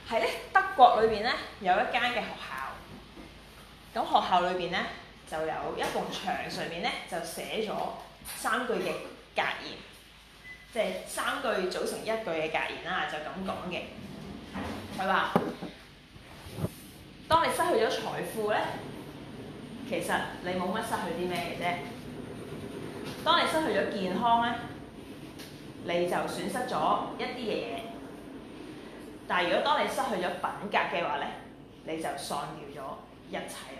喺咧德國裏邊咧有一間嘅學校，咁學校裏邊咧就有一埲牆上面咧就寫咗3句嘅格言，即係3句組成1句嘅格言啦，就咁講嘅。佢話：當你失去咗財富咧，其實你冇乜失去啲咩嘅啫。當你失去咗健康咧，你就損失咗一啲嘅嘢。但係如果當你失去咗品格嘅話咧，你就喪掉咗一切。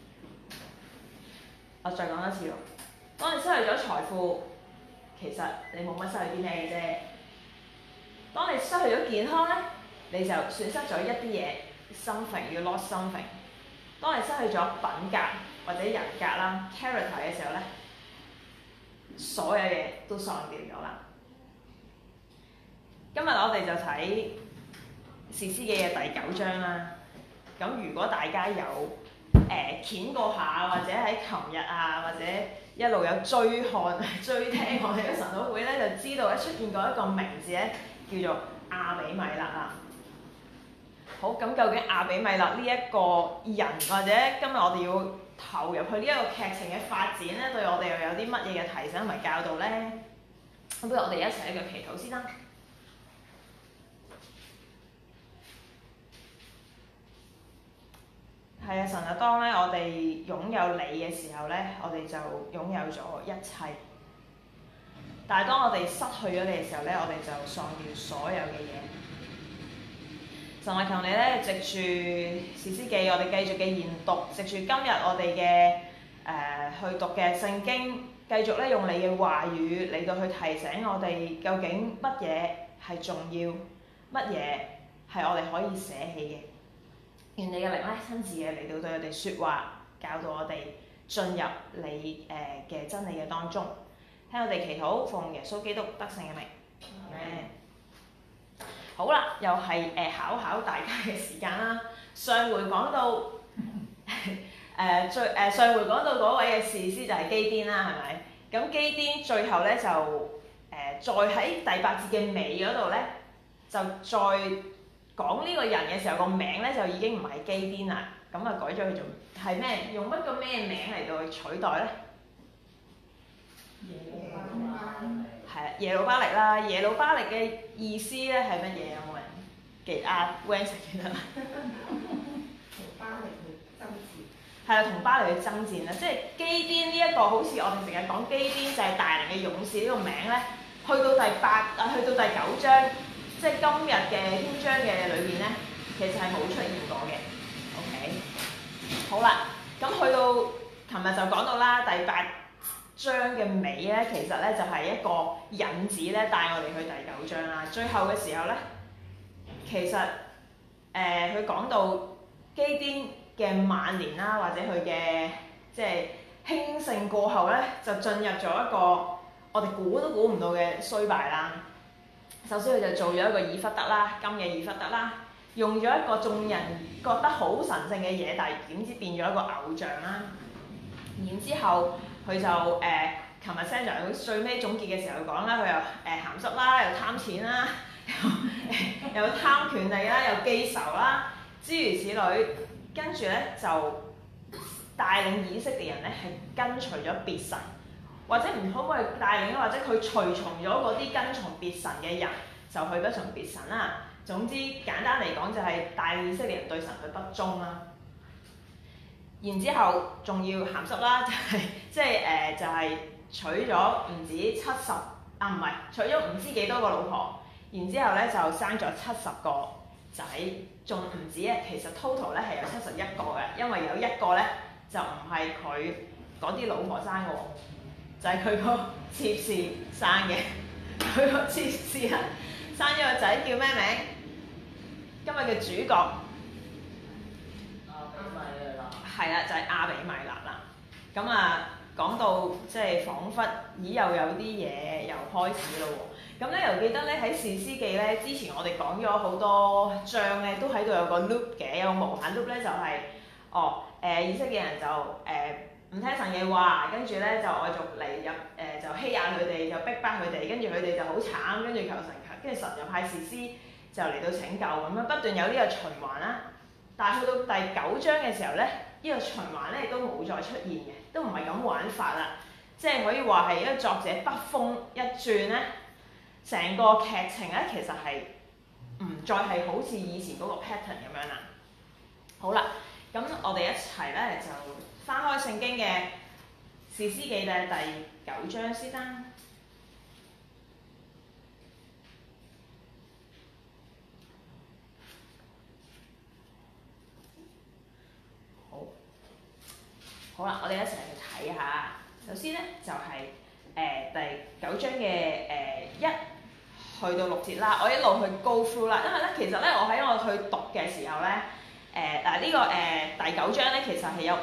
我再講多次喎，當你失去咗財富，其實你冇乜失去啲咩嘅啫。當你失去咗健康咧，你就損失咗一啲嘢 ，something you lost something。當你失去咗品格或者人格啦 character 嘅時候咧，所有嘢都喪掉咗啦。今日我哋就睇《士師記》嘅第9章啦。咁如果大家有掀過下，或者喺琴日啊，或者一路有追聽我哋嘅神討會咧，就知道咧出現過一個名字咧，叫做亞比米勒啦。好，咁究竟亞比米勒呢一個人，或者今日我哋要投入去呢一個劇情嘅發展咧，對我哋又有啲乜嘢嘅提醒同埋教導咧？咁不如我哋一齊喺度祈禱先啦。係啊，神啊，當咧我哋擁有你嘅時候咧，我哋就擁有咗一切。但係當我哋失去咗你嘅時候咧，我哋就喪掉所有嘅嘢。神啊，求你咧，藉住士師記，我哋繼續嘅研讀，藉住今日我哋嘅去讀嘅聖經，繼續咧用你嘅話語嚟到去提醒我哋，究竟乜嘢係重要，乜嘢係我哋可以捨棄嘅。願你嘅靈咧親自嘅嚟到對我哋説話，教導我哋進入你嘅真理嘅當中。聽我哋祈禱，奉耶穌基督得勝嘅名。好啦，又係考大家嘅時間啦。上回講到上回講到嗰位嘅士師就係基甸啦，係咪？咁基甸最後咧就再喺第8節嘅尾嗰度咧，就再講呢個人嘅時候，個名咧就已經唔係基甸啦，咁啊改咗佢做係咩？用乜個咩名嚟到去取代咧？係啊，耶路巴力啦。耶路巴力嘅意思咧係乜嘢？有冇人記啊？Wendy 記得啦。 同巴力去爭戰。 係啊，同巴力去爭戰啦。即係基甸呢一個，好似我哋成日講基甸就係大能嘅勇士呢個名咧，去到第9章，即係今日嘅篇章嘅裏邊咧，其實係冇出現過嘅。OK， 好啦，咁去到琴日就講到啦，第8章嘅尾咧，其實咧就係一個引子咧，帶我哋去第9章啦。最後嘅時候咧，其實佢講到基甸嘅晚年啦，或者佢嘅即係興盛過後咧，就進入咗一個我哋估都估唔到嘅衰敗啦。首先佢就做咗一個以弗得啦，金嘅以弗得啦，用咗一個眾人覺得好神聖嘅嘢，但係點知變咗一個偶像啦。然之後佢就琴日 Sandra 最尾總結嘅時候講啦，佢又鹹濕啦，又貪錢啦，又貪權力啦，又記仇啦，諸如此類。跟住咧就帶領以色列人咧係跟隨咗別神，或者唔可唔可以帶領咧，或者佢隨從咗嗰啲跟從別神嘅人，就去不從別神啦。總之簡單嚟講就係帶領以色列人對神去不忠啦。然之後仲要鹹濕啦，就係娶咗唔止70啊，唔係娶咗唔知幾多個老婆，然之後咧就生咗70個仔，仲唔止啊，其實 total 咧係有71個嘅，因為有一個咧就唔係佢嗰啲老婆生嘅喎，就係佢個妾侍生嘅。佢個妾侍啊生咗個仔叫咩名？今日嘅主角係啦，就係亞比米勒啦。咁啊，講到即係彷彿又有啲嘢又開始咯喎。咁咧又記得咧喺士師記咧，之前我哋講咗好多章咧，都喺度有個 loop 嘅，有個無限 loop 咧就係以色列人就唔聽神嘅話，跟住咧就外族嚟入就欺壓佢哋，就逼迫佢哋，跟住佢哋就好慘，跟住求神，跟住神就派士師就嚟到拯救咁樣，不斷有呢個循環啦。但係去到第9章嘅時候咧，呢個循環咧亦都冇再出現嘅，都唔係咁玩法啦。即係可以話係一個作者筆鋒一轉咧，成個劇情咧其實係唔再係好似以前嗰個 pattern 咁樣啦。好啦，咁我哋一齊咧就翻開聖經嘅《士師記》嘅第9章先啦。好啦，我哋一齊去睇下。首先咧就係、第9章嘅1去到6節啦。我一路去 go through 啦，因為咧其實咧我喺我去讀嘅時候咧，呢個第9章咧其實係有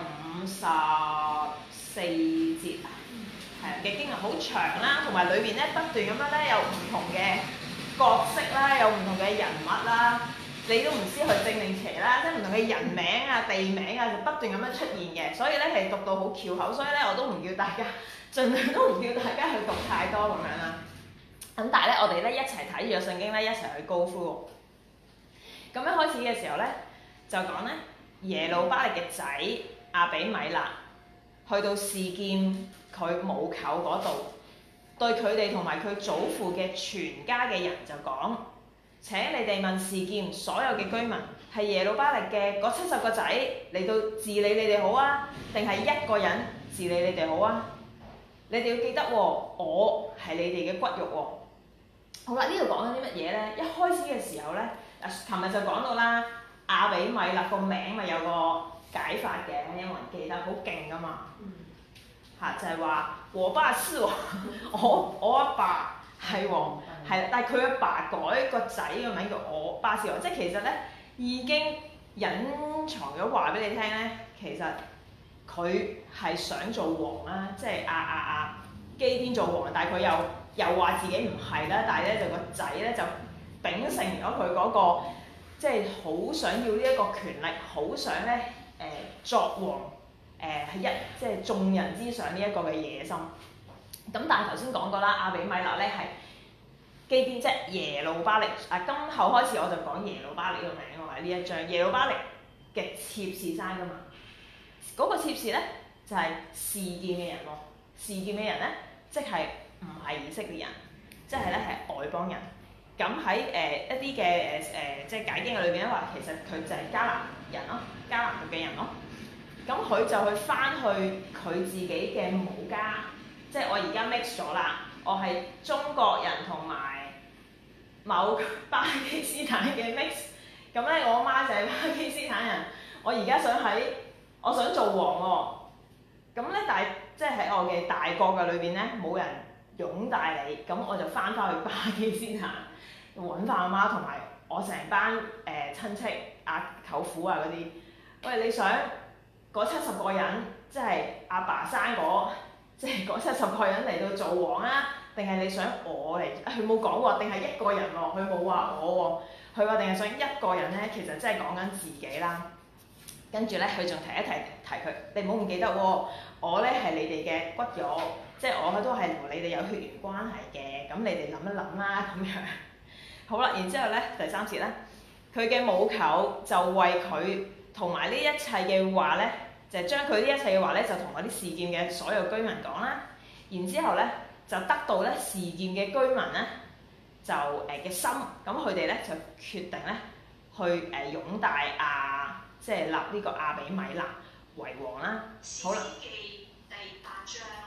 54節啊，係嘅經文好長啦，同埋裏邊咧不斷咁樣咧有唔同嘅角色啦，有唔同嘅人物啦。你都唔知佢正定邪啦，即係唔同嘅人名啊、地名啊，就不斷咁樣出現嘅，所以咧係讀到好翹口，所以咧我都唔叫大家，盡量都唔叫大家去讀太多咁樣啦。咁但係咧，我哋咧一齊睇住個聖經咧，一齊去 go through。咁一開始嘅時候咧，就講咧耶路巴力嘅仔亞比米勒去到示劍佢母舅嗰度，對佢哋同埋佢祖父嘅全家嘅人就講。請你哋問示劍所有嘅居民，係耶路巴力嘅嗰70個仔嚟到治理你哋好啊，定係一個人治理你哋好啊？你哋要記得喎，我係你哋嘅骨肉喎。好啦，呢度講緊啲乜嘢咧？一開始嘅時候咧，琴日就講到啦，亞比米勒個名咪有個解法嘅，有冇人記得？好勁噶嘛。就係話我爸是王，我阿爸係王。係啦，但係佢阿爸改個仔個名叫我巴士王，即係其實咧已經隱藏咗話俾你聽咧，其實佢係想做王啦，即係基甸做王，但係佢又話自己唔係啦，但係咧就個仔咧就秉承咗佢嗰個即係好想要呢一個權力，好想咧作王係即係眾人之上呢一個嘅野心。咁但係頭先講過啦，亞比米勒咧係基甸即係耶路巴力，今後開始我就講耶路巴力個名喎，喺呢一章耶路巴力嘅妾侍生噶嘛，嗰、那個妾侍咧就係示劍嘅人喎，示劍嘅人咧即係唔係以色列人，即係咧係外邦人。咁喺一啲嘅即係解經嘅裏邊咧話，其實佢就係迦南人咯，迦南嘅人咯。咁佢就去翻去佢自己嘅母家，即係我而家 mix 咗啦，我係中國人同埋某巴基斯坦嘅 mix， 咁咧我媽就係巴基斯坦人，我而家我想做王喎，咁咧但係即係喺我嘅大國嘅裏邊咧冇人擁戴你，咁我就翻去巴基斯坦揾翻阿媽同埋我成班親戚舅父啊嗰啲，喂，你想嗰70個人即係阿爸生即係嗰70個人嚟到做王啊？定係你想我嚟？佢冇講喎，定係一個人喎？佢冇話我喎，佢話定係想一個人咧，其實真係講緊自己啦。跟住咧，佢仲提佢，你唔好唔記得喎，我咧係你哋嘅骨肉，即係我都係同你哋有血緣關係嘅。咁你哋諗一諗啦，咁樣。好啦，然之後咧第3節咧，佢嘅母舅就為佢同埋呢一切嘅話咧，就將佢呢一切嘅話咧，就同嗰啲示劍嘅所有居民講啦。然之後咧，就得到咧示劍嘅居民咧，就嘅心，咁佢哋咧就決定咧去擁戴即係立呢個亞比米勒為王啦。好啦。士師記第8章。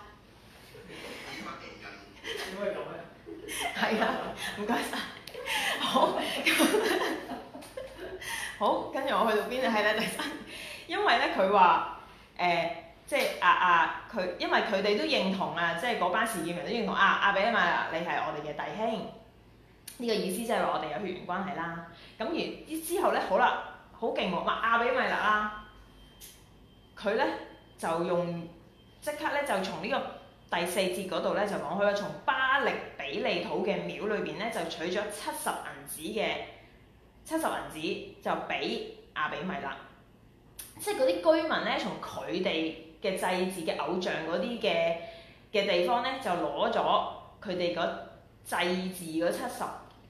點解咁咧？係啊，唔該晒。好，好，跟住我去到邊啊？係啦，第3，因為咧佢話即係佢，因為佢哋都認同即係嗰班示劍人都認同亞比米勒你係我哋嘅弟兄，呢、這個意思即係話我哋有血緣關係啦。咁然之後咧，好啦，好勁喎，亞比米勒啦，佢咧就即刻咧就從呢個第4節嗰度咧就講，佢話從巴力比利土嘅廟裏邊咧就取咗70銀子就俾亞比米勒，即係嗰啲居民咧從佢哋嘅祭祀嘅偶像嗰啲嘅地方咧，就攞咗佢哋嗰祭祀嗰70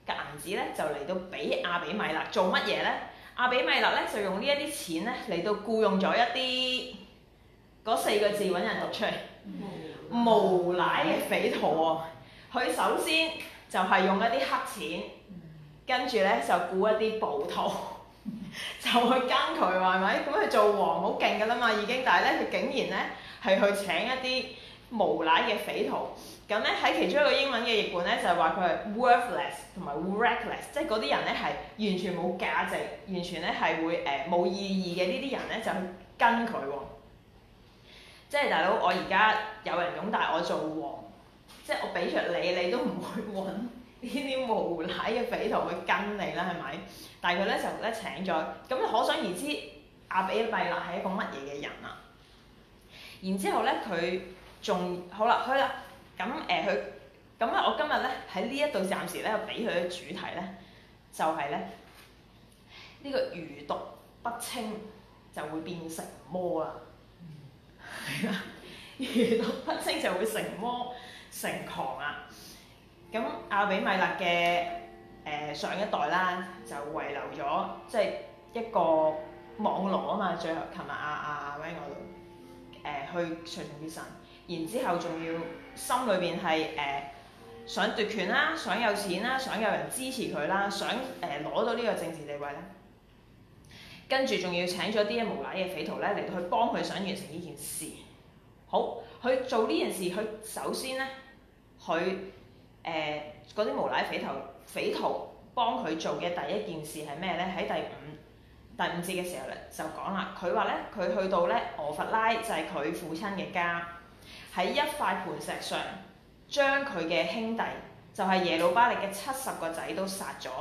嘅銀子咧，就嚟到俾亞比米勒做乜嘢咧？亞比米勒咧就用呢一啲錢咧嚟到僱用咗一啲嗰4個字揾人讀出嚟，無賴嘅匪徒喎。佢首先就係用一啲黑錢，跟住咧就僱一啲暴徒，就去跟佢喎，係咪？咁佢做王好勁㗎啦嘛已經，但係咧佢竟然咧係去請一啲無賴嘅匪徒。咁咧喺其中一個英文嘅譯本咧就係話佢係 worthless 同埋 reckless， 即係嗰啲人咧係完全冇價值，完全咧係會冇意義嘅呢啲人咧就去跟佢喎。即係大佬，我而家有人擁戴我做王，即係我俾着你，你都唔會揾呢啲無賴嘅匪徒去跟你啦，係咪？但係佢咧就咧請咗，咁可想而知亞比米勒係一個乜嘢嘅人啊？然之後咧佢仲好啦，咁我今日咧喺呢一度暫時咧俾佢嘅主題咧，就係咧呢個餘毒不清就會變成魔啦。係啊，餘毒不清就會成魔成狂啊！咁亞比米勒嘅上一代啦，就遺留咗即係一個網羅啊嘛。最後琴日阿 Wing 嗰度去隨從別神，然之後仲要心裏邊係想奪權啦，想有錢啦，想有人支持佢啦，想攞到呢個政治地位咧。跟住仲要請咗啲無賴嘅匪徒咧嚟到去幫佢想完成呢件事。好，佢做呢件事，佢首先咧，佢嗰啲無賴匪徒幫佢做嘅第一件事係咩咧？喺第五節嘅時候咧就講啦，佢話咧佢去到咧俄弗拉就係佢父親嘅家，喺一塊磐石上將佢嘅兄弟就係耶路巴力嘅70個仔都殺咗。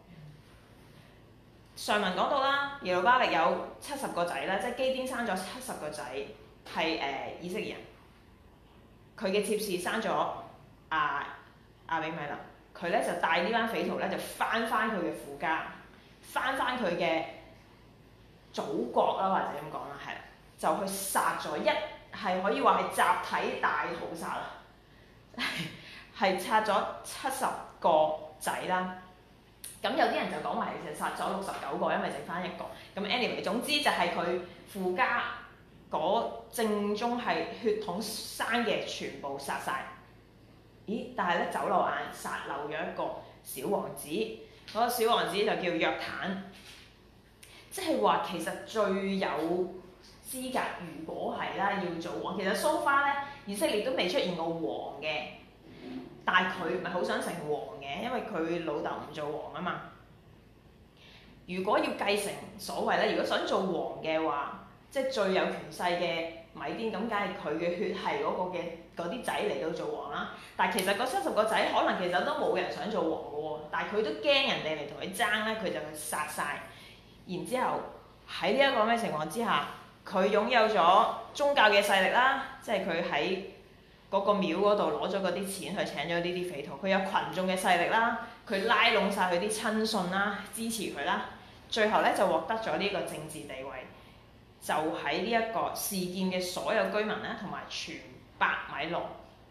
上文講到啦，耶路巴力有70個仔啦，即係基甸生咗70個仔，係以色列人。佢嘅妾侍生咗亞比米勒，佢咧就帶呢班匪徒咧就翻佢嘅父家，翻佢嘅祖國啦，或者咁講啦，係啦，就去殺咗係可以話係集體大屠殺啦，係殺咗70個仔啦。咁有啲人就講話其實殺咗69個，因為剩翻一個。咁 anyway， 總之就係佢父家嗰正宗係血統生嘅全部殺晒。咦？但係咧走漏眼殺漏咗一個小王子，嗰個小王子就叫約坦。即係話其實最有資格，如果係啦要做王，其實so far咧以色列都未出現過王嘅。但係佢唔係好想成王嘅，因為佢老豆唔做王啊嘛。如果要繼承所謂咧，如果想做王嘅話，即係最有權勢嘅米甸，咁梗係佢嘅血系嗰個嘅嗰啲仔嚟到做王啦。但係其實嗰70個仔可能其實都冇人想做王嘅喎，但係佢都驚人哋嚟同佢爭咧，佢就去殺晒。然之後喺呢一個咩情況之下，佢擁有咗宗教嘅勢力啦，即係佢喺嗰個廟嗰度攞咗嗰啲錢去請咗呢啲匪徒，佢有群眾嘅勢力啦，佢拉攏晒佢啲親信啦，支持佢啦，最後咧就獲得咗呢個政治地位，就喺呢一個示劍嘅所有居民咧，同埋全伯米倫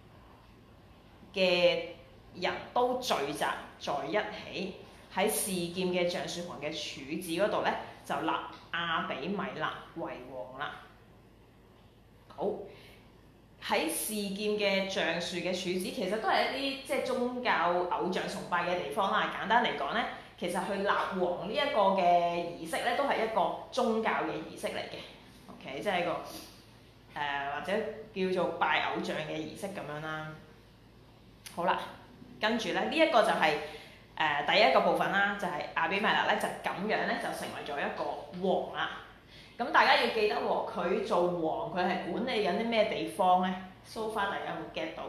嘅人都聚集在一起，喺示劍嘅橡樹旁嘅柱子嗰度咧，就立亞比米勒為王啦。好。喺示劍嘅橡樹嘅柱子，其實都係一啲即係宗教偶像崇拜嘅地方啦。簡單嚟講咧，其實去立王呢一個嘅儀式咧，都係一個宗教嘅儀式嚟嘅。OK， 即係一個或者叫做拜偶像嘅儀式咁樣啦。好啦，跟住咧呢一個就係第一個部分啦，就係亞比米勒咧就咁樣咧就成為咗一個王啦。咁大家要記得喎，佢做王，佢係管理緊啲咩地方咧 ？So far 大家有冇 get 到？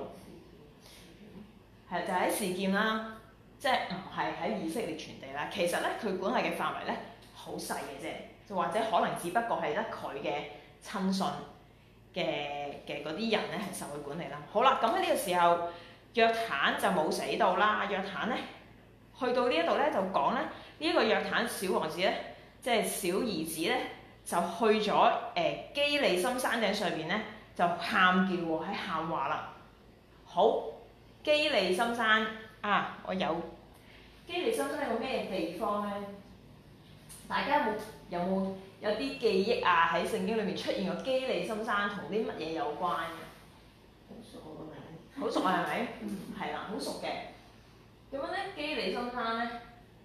係就喺示劍啦，即係唔係喺以色列全地啦。其實咧，佢管理嘅範圍咧好細嘅啫，就或者可能只不過係得佢嘅親信嘅嗰啲人咧係受佢管理啦。好啦，咁喺呢個時候，約坦就冇死到啦。約坦咧去到呢一度咧就講咧，呢一個約坦小王子咧，即係小兒子咧。就去咗基利心山頂上邊咧，就喊叫喎，喺喊話啦。好，基利心山啊，我有基利心山係個咩地方咧？大家有啲記憶啊？喺聖經裏面出現過基利心山同啲乜嘢有關嘅？ 好熟個名。 好熟啊，係咪？係啦，好熟嘅。咁樣咧，基利心山咧，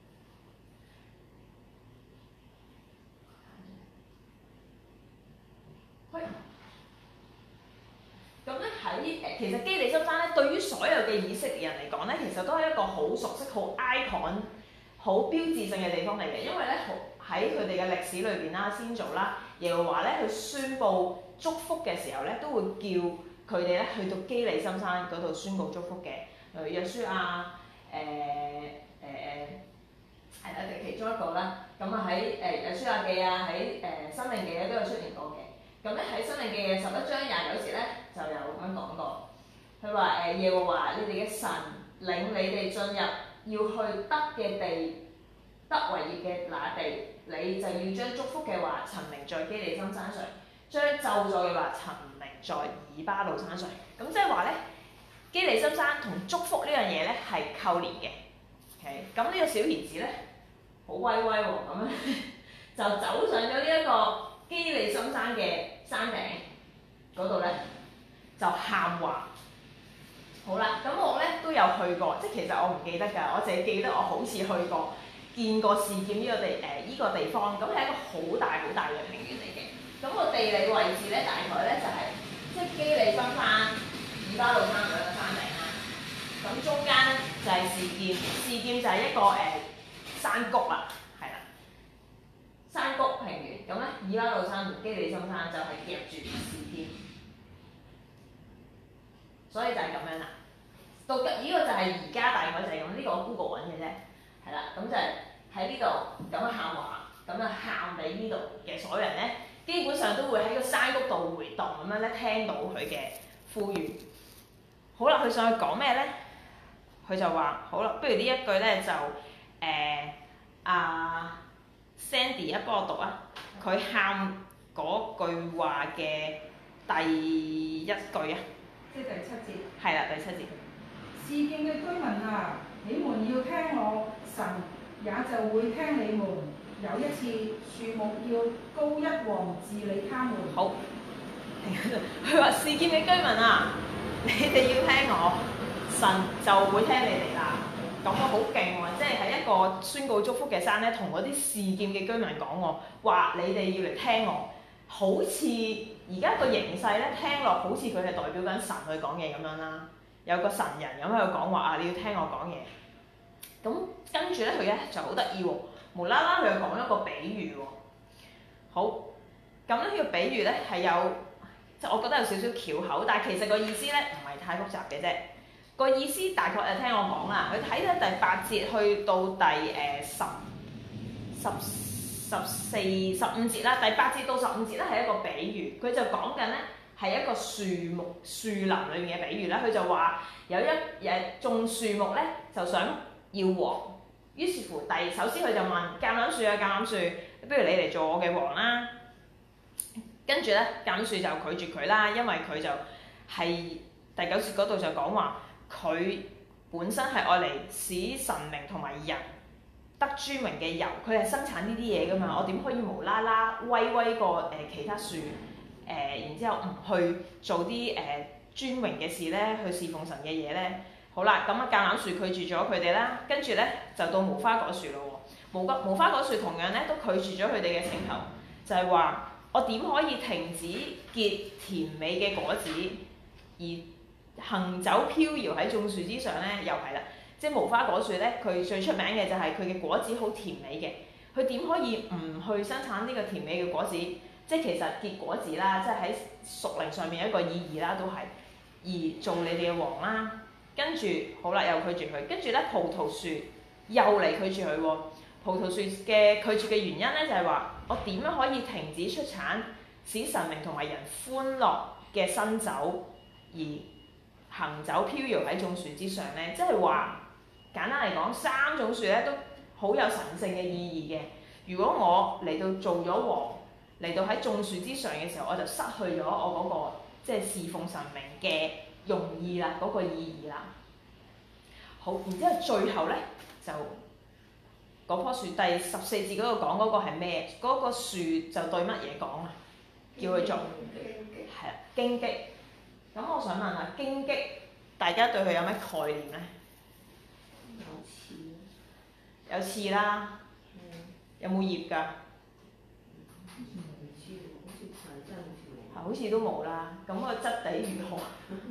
咁咧喺其實基利心山咧，對於所有嘅以色列人嚟講咧，其實都係一個好熟悉、好 icon、好標誌性嘅地方嚟嘅。因為咧，喺佢哋嘅歷史裏邊啦，先祖啦，耶和華咧去宣佈祝福嘅時候咧，都會叫佢哋咧去到基利心山嗰度宣佈祝福嘅。例如約書亞係啦，其中一個啦。咁啊喺約書亞記啊，喺申命記咧都有出現過嘅。咁咧喺申命記嘅11章29節咧就有咁樣講過，佢話耶和華你哋嘅神領你哋進入要去得嘅地，得為業嘅那地，你就要將祝福嘅話陳明在基利心山上，將咒詛嘅話陳明在以巴路山上。咁即係話咧，基利心山同祝福呢樣嘢咧係扣連嘅。OK， 咁呢個小兒子咧好威威喎，咁樣就走上咗呢一個基利心山嘅山頂嗰度咧，就喊話。好啦，咁我咧都有去過，即係其實我唔記得㗎，我淨係記得我好似去過見過示劍呢個依個地方，咁係一個好大嘅平原嚟嘅。咁個地理位置咧，大概咧就係即係基利心山、以巴路山兩個山頂啦。咁中間咧就係示劍，示劍就係一個山谷啦，係啦，山谷平原。咁咧，以巴路山同基利心山就係夾住示劍，所以就係咁樣啦。到呢個就係而家大概就係咁，呢個我 Google 揾嘅啫，係啦。咁就係喺呢度咁樣喊話，咁啊喊俾呢度嘅所有人咧，基本上都會喺個山谷度回盪咁樣咧，聽到佢嘅呼籲。好啦，佢上去講咩咧？佢就話：好啦，不如呢一句咧就Sandy 一幫我讀啊。佢喊嗰句話嘅第一句啊， 即係第7節。 係啦，第7節。 示劍嘅居民啊，你們要聽我，神也就會聽你們。有一次，樹木要膏一王治理他們。好，佢話示劍嘅居民啊，你哋要聽我，神就會聽你哋啦。咁我好勁喎，即係喺一個宣告祝福嘅山咧，同嗰啲示劍嘅居民講我，話你哋要嚟聽我。好似而家個形勢咧，聽落好似佢係代表緊神去講嘢咁樣啦。有個神人咁喺度講話啊，你要聽我講嘢。咁跟住咧，佢咧就好得意喎，無啦啦佢又講一個比喻喎。好，咁咧呢個比喻咧係有，即係我覺得有少少翹口，但係其實個意思咧唔係太複雜嘅啫。個意思大概就聽我講啦。佢睇到第8節去到第14、15節啦，第8節到15節咧係一個比喻，佢就講緊咧。係一個樹林裏面嘅比喻啦。佢就話有一種樹木咧，就想要王，於是乎首先佢就問橄欖樹啊，橄欖樹，不如你嚟做我嘅王啦。跟住咧，橄欖樹就拒絕佢啦，因為佢就係第9節嗰度就講話，佢本身係愛嚟使神明同埋人得尊榮嘅油，佢係生產呢啲嘢噶嘛，我點可以無啦啦威過其他樹？然之後唔去做啲尊榮嘅事咧，去侍奉神嘅嘢咧。好啦，咁啊橄欖樹拒絕咗佢哋啦，跟住咧就到無花果樹咯喎。無花果樹同樣咧都拒絕咗佢哋嘅請求，就係話我點可以停止結甜美嘅果子，而行走飄搖喺眾樹之上咧？又係啦，即係無花果樹咧，佢最出名嘅就係佢嘅果子好甜美嘅，佢點可以唔去生產呢個甜美嘅果子？即係其實結果子啦，即係喺屬靈上面一個意義啦，都係而做你哋嘅王啦。跟住好啦，又拒絕佢。跟住咧，葡萄樹又嚟拒絕佢喎。葡萄樹嘅拒絕嘅原因咧，就係話我點樣可以停止出產，使神明同埋人歡樂嘅新酒，而行走飄搖喺眾樹之上咧？即係話簡單嚟講，3種樹咧都好有神聖嘅意義嘅。如果我嚟到做咗王，嚟到喺眾樹之上嘅時候，我就失去咗我嗰個即係侍奉神明嘅用意啦，嗰個意義啦。好，然之後最後咧就嗰棵樹第14節嗰度講嗰個係咩？嗰、個樹就對乜嘢講啊？叫佢做係啦，荊棘。咁我想問下，荊棘大家對佢有咩概念咧？有刺啦，有冇葉㗎？好似都冇啦。咁個質地如何？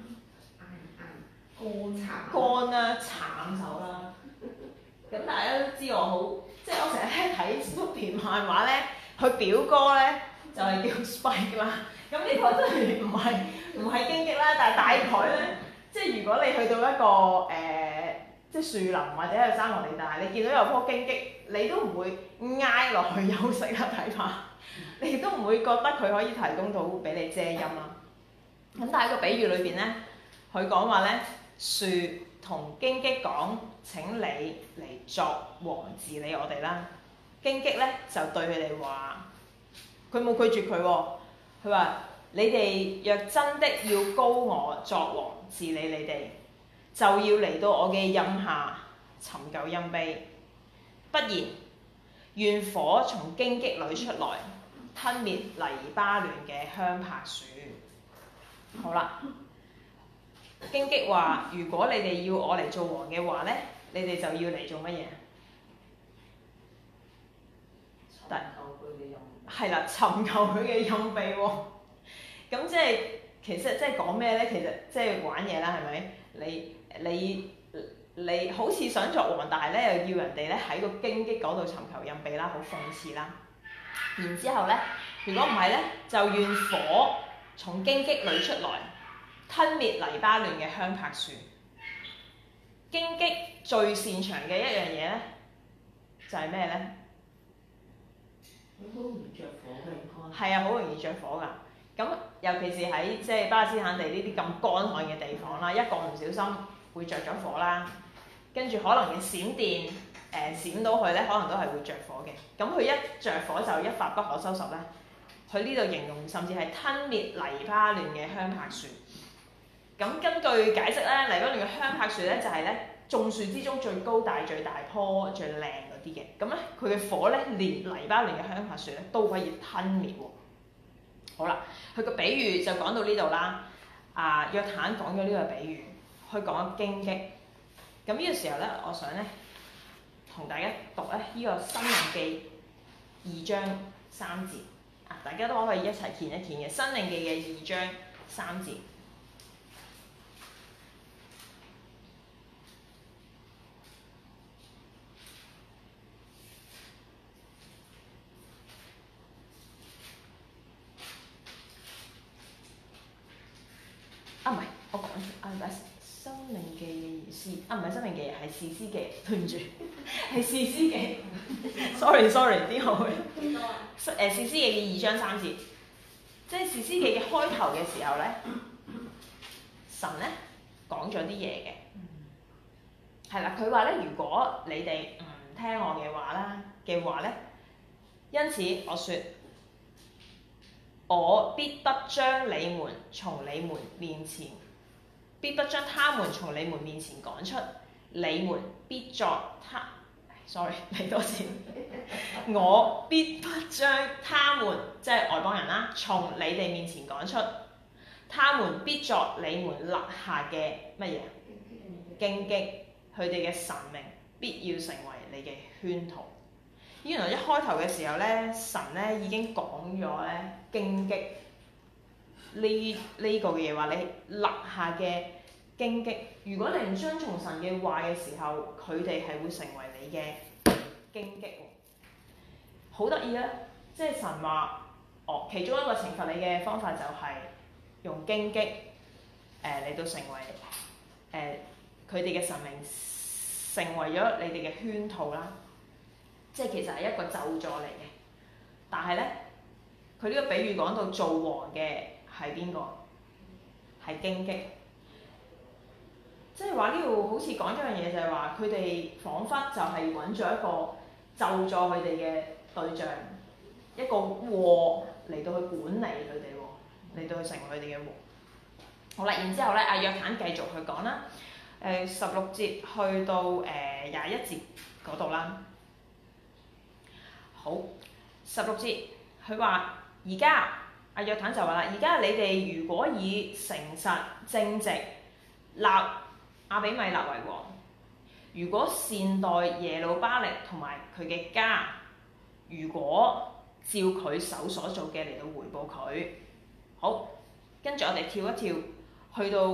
乾啦，慘手啦。咁大家都知我好，即係我成日咧睇 Snoopy 漫畫咧，佢表哥咧就係叫 Spike 啦。咁呢個真係唔係荊棘啦，但係大概咧，即係如果你去到一個即係樹林或者係山林地帶，你見到有棵荊棘，你都唔會挨落去休息啦，睇怕，你亦都唔會覺得佢可以提供到俾你遮陰啦。咁但係個比喻裏邊咧，佢講話咧，樹同荊棘講：請你嚟作王治理我哋啦。荊棘咧就對佢哋話，佢冇拒絕佢喎，佢話：你哋若真的要膏我作王治理你哋，就要嚟到我嘅蔭下尋求蔭庇，不然願火從荊棘裏出來，吞滅黎巴嫩嘅香柏樹。好啦，荊棘話：如果你哋要我嚟做王嘅話咧，你哋就要嚟做乜嘢？係啦，尋求佢嘅蔭庇喎。咁即係其實即係講咩咧？其實即係玩嘢啦，係咪？你好似想作王，但係咧又要人哋咧喺個荊棘嗰度尋求蔭庇啦，好諷刺啦。然之後咧，如果唔係咧，就願火從荊棘裏出來，吞滅黎巴嫩嘅香柏樹。荊棘最擅長嘅一樣嘢咧，就係咩咧？好容易着火嘅，係啊，好容易着火㗎。咁尤其是喺即係巴勒斯坦地呢啲咁乾旱嘅地方啦，一個唔小心會着咗火啦，跟住可能嘅閃電閃到佢咧，可能都係會着火嘅。咁佢一着火就一發不可收拾咧。佢呢度形容甚至係吞滅黎巴嫩嘅香柏樹。咁根據解釋咧，黎巴嫩嘅香柏樹咧就係咧眾樹之中最高大、最大棵、最靚嗰啲嘅。咁咧佢嘅火咧，連黎巴嫩嘅香柏樹咧都可以吞滅喎。好啦，佢個比喻就講到呢度啦。約坦講咗呢個比喻，佢講荊棘。咁呢個時候咧，我想咧同大家讀咧呢個申命記2章3節。大家都可以一齊見一見嘅申命記嘅2章3節。唔係，我講錯，唔係申命記嘅意思，唔係申命記，係士師記，對唔住，係士師記。sorry，啲好嘅。士師記嘅2章3節，即係士師記嘅開頭嘅時候咧，神咧講咗啲嘢嘅，係啦，佢話咧，如果你哋唔聽我嘅話咧，因此我説。我必不將你們從你們面前，必不將他們從你們面前趕出，你們必作他。sorry， 嚟多次。我必不將他們，即係外邦人啦，從你哋面前趕出，他們必作你們勒下嘅乜嘢？荊棘，佢哋嘅神明必要成為你嘅圈套。原來一開頭嘅時候咧，神咧已經講咗咧荊棘呢個嘅嘢，話你勒下嘅荊棘，如果你唔遵從神嘅話嘅時候，佢哋係會成為你嘅荊棘喎。好得意啊！即係神話，其中一個懲罰你嘅方法就係用荊棘嚟到成為佢哋嘅神明，成為咗你哋嘅圈套啦。即係其實係一個咒詛嚟嘅，但係咧，佢呢個比喻講到做王嘅係邊個？係荊棘。即係話呢度好似講咗樣嘢，就係話佢哋彷彿就係揾咗一個咒詛佢哋嘅對象，一個禍嚟到去管理佢哋喎，嚟到去成為佢哋嘅王。好啦，然之後咧，約坦繼續去講啦，16節去到21節嗰度啦。 好，16節，佢話而家阿約坦就話啦，而家你哋如果以誠實正直立亞比米勒為王，如果善待耶路巴力同埋佢嘅家，如果照佢手所做嘅嚟到回報佢，好，跟住我哋跳一跳，去到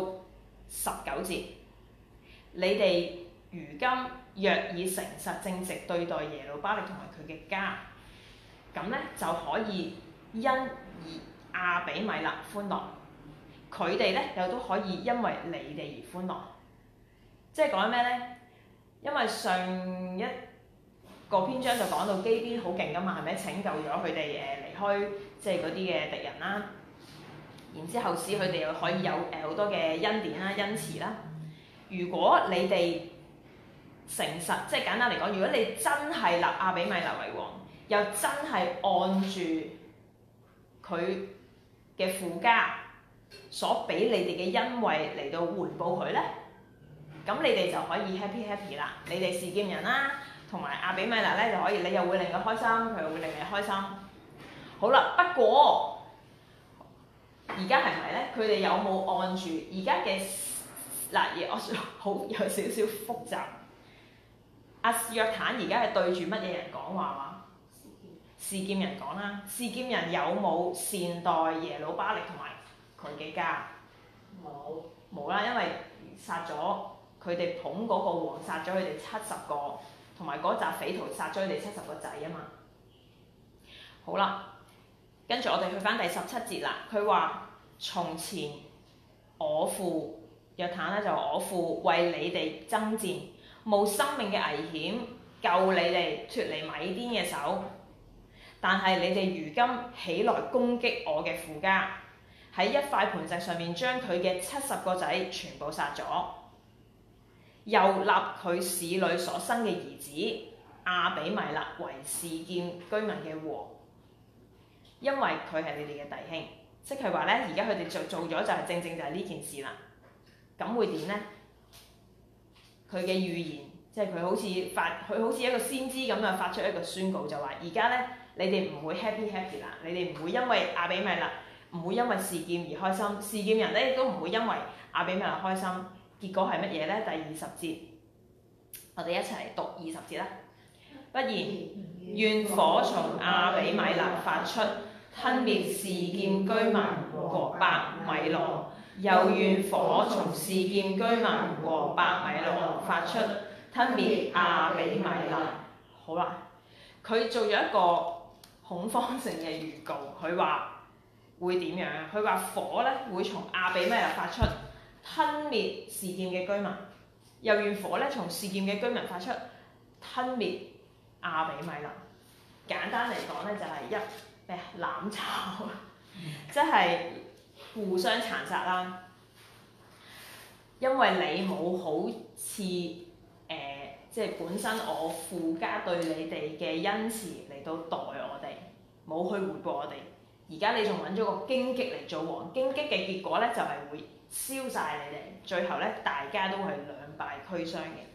19節，你哋如今若以誠實正直對待耶路巴力同埋佢嘅家，咁咧就可以因亞比米勒歡樂，佢哋咧又都可以因為你哋而歡樂。即係講緊咩咧？因為上一個篇章就講到基邊好勁噶嘛，係咪拯救咗佢哋離開即係嗰啲嘅敵人啦？然之後使佢哋又可以有好多嘅恩典啦、恩慈啦。如果你哋誠實，即係簡單嚟講，如果你真係立亞比米勒為王，又真係按住佢嘅父家所俾你哋嘅恩惠嚟到回報佢咧，咁你哋就可以 happy 啦。你哋示劍人啦，同埋亞比米勒咧就可以，你又會令佢開心，佢又會令你開心。好啦，不過而家係咪咧？佢哋有冇按住而家嘅嗱？我好有少少複雜。阿約坦而家係對住乜嘢人講話話？示劍人講啦。示劍人有冇善待耶路巴力同埋佢嘅家？冇啦，因為殺咗佢哋捧嗰個王，殺咗佢哋70個，同埋嗰紮匪徒殺咗佢哋70個仔啊嘛。好啦，跟住我哋去翻第17節啦。佢話：從前我父約坦咧就我父為你哋爭戰，冒生命嘅危險救你哋脫離米甸嘅手，但係你哋如今起來攻擊我嘅父家，喺一塊磐石上面將佢嘅70個仔全部殺咗，又立佢市裏所生嘅兒子亞比米勒為示劍居民嘅王，因為佢係你哋嘅弟兄。即係話咧，而家佢哋做咗就係正就係呢件事啦。咁會點咧？佢嘅預言，即係佢好似一個先知咁樣發出一個宣告，就話而家咧你哋唔會 happy 啦，你哋唔會因為亞比米勒，唔會因為示劍而開心，示劍人咧亦都唔會因為亞比米勒開心。結果係乜嘢咧？第20節，我哋一齊讀20節啦。不然，願火從亞比米勒發出，吞滅示劍居民和伯米羅，又願火從示劍居民和伯米羅發出，吞滅亞比米勒。好啦，佢做咗一個恐慌性嘅預告，佢話會點樣？佢話火咧會從亞比米勒發出，吞滅示劍嘅居民，又願火咧從示劍嘅居民發出，吞滅亞比米勒。簡單嚟講咧，就係攬炒，即係互相殘殺啦。因為你冇好似即係本身我父家對你哋嘅恩慈嚟到待我哋，冇去回報我哋。而家你仲揾咗個荊棘嚟做王，荊棘嘅結果咧就係會燒晒你哋，最後咧大家都係兩敗俱傷嘅。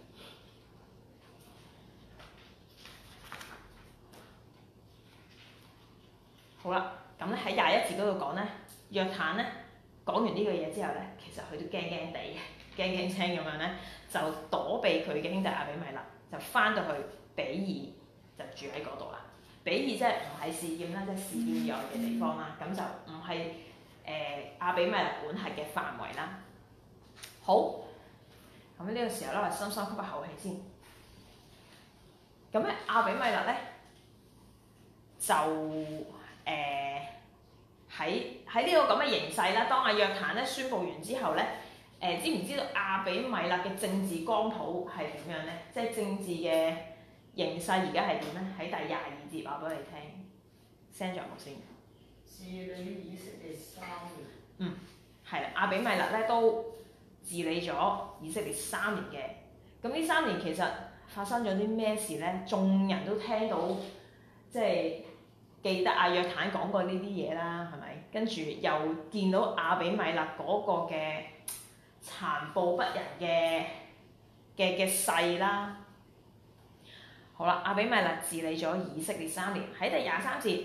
好啦，咁咧喺21節嗰度講咧，約坦咧講完呢個嘢之後咧，其實佢都驚驚地嘅，驚驚青咁樣咧，就躲避佢嘅兄弟亞比米勒，就翻到去比爾就住喺嗰度啦。比爾即係唔係示劍啦，即係示劍以外嘅地方啦，咁就唔係亞比米勒管轄嘅範圍啦。好，咁呢個時候咧，我深深吸一口氣先。咁咧亞比米勒咧就喺呢個咁嘅形勢啦，當阿約坦咧宣佈完之後咧，知唔知道亞比米勒嘅政治光譜係點樣咧？即係政治嘅形勢而家係點咧？喺第22節話俾你聽 ，send 咗幕先。治理以色列3年。係啦，亞比米勒咧都治理咗以色列3年嘅。咁呢3年其實發生咗啲咩事咧？眾人都聽到，即係記得阿約坦講過呢啲嘢啦，係咪？跟住又見到亞比米勒嗰個嘅殘暴不仁嘅勢啦。 好啦，亞比米勒治理咗以色列3年，喺第23節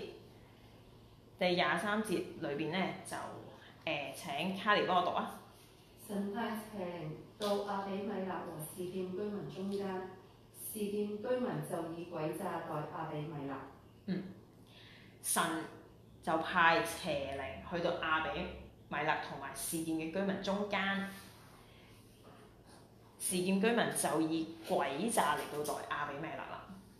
裏邊咧就請卡尼幫我讀啊。 神派邪靈到亞比米勒和示劍居民中間，示劍居民就以詭詐待亞比米勒。 神就派邪靈去到亞比米勒同埋示劍嘅居民中間，示劍居民就以詭詐嚟到待亞比米勒啦。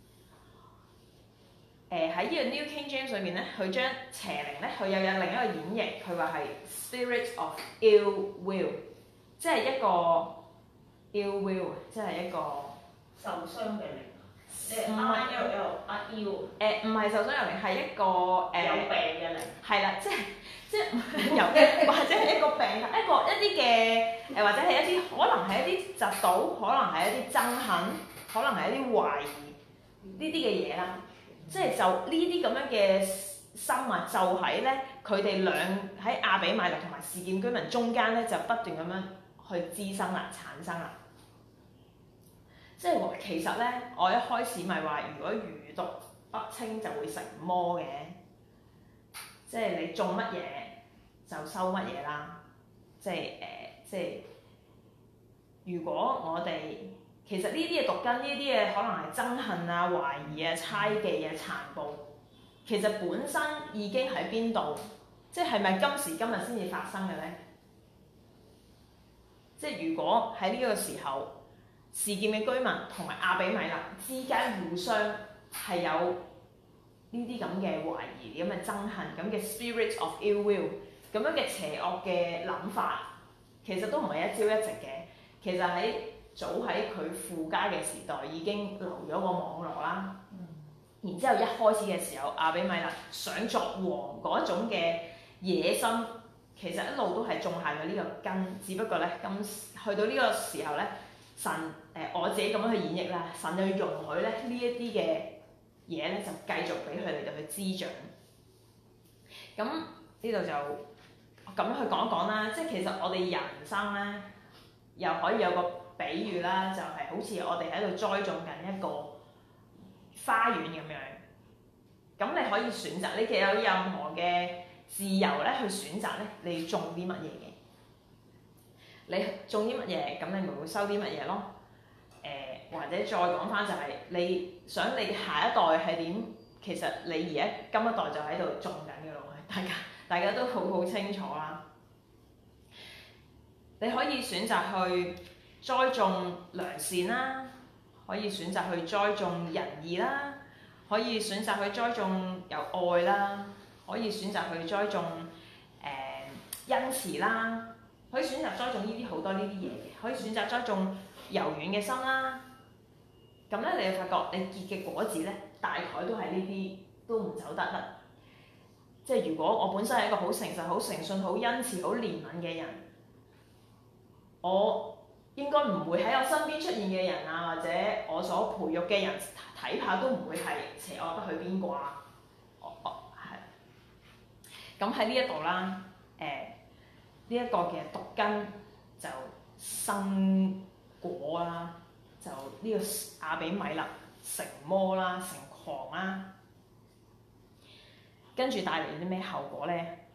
喺呢個 New King James 裏面咧，佢將邪靈咧，佢又有另一個演繹，佢話係 spirit of ill will， 即係一個 ill will， 即係一個受傷嘅靈，唔係ill， 唔係受傷嘅靈，係一個有病嘅靈。 係啦，即係有或者係一個病，一啲嘅或者係一啲可能係一啲嫉妒，可能係一啲憎恨，可能係一啲懷疑呢啲嘅嘢啦。即係就呢啲咁樣嘅生物，就喺咧佢哋喺亞比米勒同埋示劍居民中間咧，就不斷咁樣去滋生啦、產生啦。即係其實咧，我一開始咪話，如果餘毒不清就會成魔嘅，即係你種乜嘢就收乜嘢啦。即係如果我哋其實呢啲嘅毒根，呢啲嘅可能係憎恨啊、懷疑啊、猜忌啊、殘暴，其實本身已經喺邊度？即係咪今時今日先至發生嘅咧？即係如果喺呢個時候，示劍嘅居民同埋亞比米勒之間互相係有呢啲咁嘅懷疑、咁嘅憎恨、咁嘅 spirit of ill will 咁樣嘅邪惡嘅諗法，其實都唔係一朝一夕嘅。其實早喺佢父家嘅時代已經留咗個網絡啦。然之後一開始嘅時候，亞比米勒想作王嗰種嘅野心，其實一路都係種下咗呢個根。只不過咧，去到呢個時候咧，神我自己咁樣去演繹啦，神就容許咧呢一啲嘅嘢咧，就繼續俾佢哋就去滋長。咁呢度就咁樣去講一講啦。即係其實我哋人生咧，又可以有個比喻啦，就係好似我哋喺度栽種緊一個花園咁樣。咁你可以選擇，你其實有任何嘅自由咧去選擇咧，你種啲乜嘢嘅？你種啲乜嘢，咁你咪會收啲乜嘢咯。或者再講翻就係你想你下一代係點，其實你而家今一代就喺度種緊嘅咯，大家都好清楚啦。你可以選擇去栽種良善啦，可以選擇去栽種仁義啦，可以選擇去栽種有愛啦，可以選擇去栽種恩慈啦，可以選擇栽種呢啲好多呢啲嘢嘅，可以選擇栽種柔軟嘅心啦。咁咧，你會發覺你結嘅果子咧，大概都係呢啲，都唔走得甩。即係如果我本身係一個好誠實、好誠信、好恩慈、好憐憫嘅人，我應該唔會喺我身邊出現嘅人啊，或者我所培育嘅人睇怕都唔會係邪惡得去邊啩？係。咁喺呢一度啦，呢一個嘅毒根就生果啦。就呢個亞比米勒成魔啦，成狂啦，跟住帶嚟啲咩後果咧？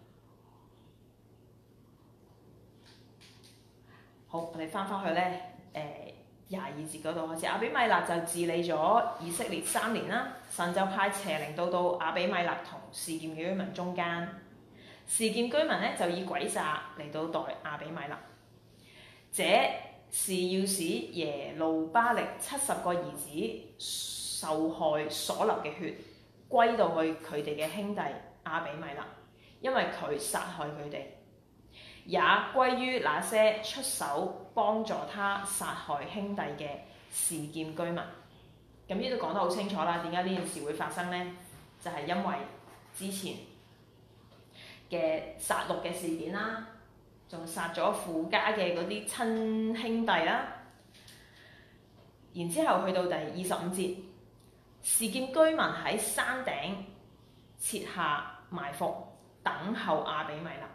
好，我哋翻返去咧，22節嗰度開始，亞比米勒就治理咗以色列3年啦。神就派邪靈到亞比米勒同示劍嘅居民中間，示劍居民咧就以詭詐嚟到待亞比米勒，這是要使耶路巴力70個兒子受害所流嘅血歸到去佢哋嘅兄弟亞比米勒，因為佢殺害佢哋，也歸於那些出手幫助他殺害兄弟嘅示劍居民。咁呢度講得好清楚啦，點解呢件事會發生呢？就係因為之前嘅殺戮嘅事件啦。仲殺咗父家嘅嗰啲親兄弟啦，然之後去到第25節，示劍居民喺山頂設下埋伏，等候亞比米勒。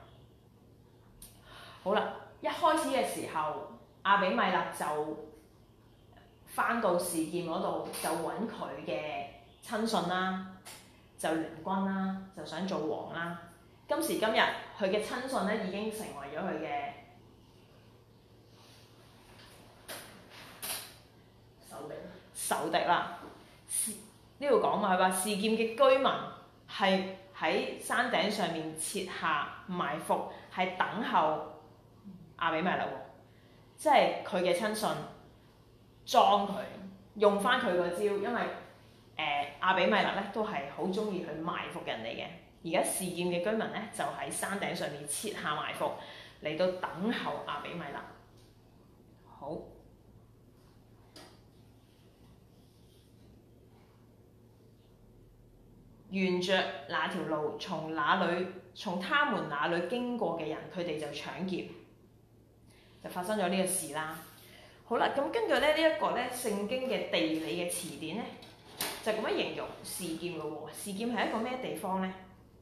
好啦，一開始嘅時候，亞比米勒就翻到示劍嗰度就揾佢嘅親信啦，就聯軍啦，就想做王啦。今時今日佢嘅親信咧已經成為咗佢嘅仇敵啦。呢度講嘛，佢話示劍嘅居民係喺山頂上面設下埋伏，係等候亞比米勒喎，即係佢嘅親信裝佢，用翻佢個招，因為亞比米勒咧都係好中意去埋伏人哋嘅。而家示劍嘅居民咧就喺山頂上面設下埋伏，嚟到等候亞比米勒。好。沿着那條路，從他們那裏經過嘅人，佢哋就搶劫，就發生咗呢個事啦。好啦，咁根據呢一個咧聖經嘅地理嘅詞典咧，就咁樣形容示劍嘅喎。示劍係一個咩地方咧？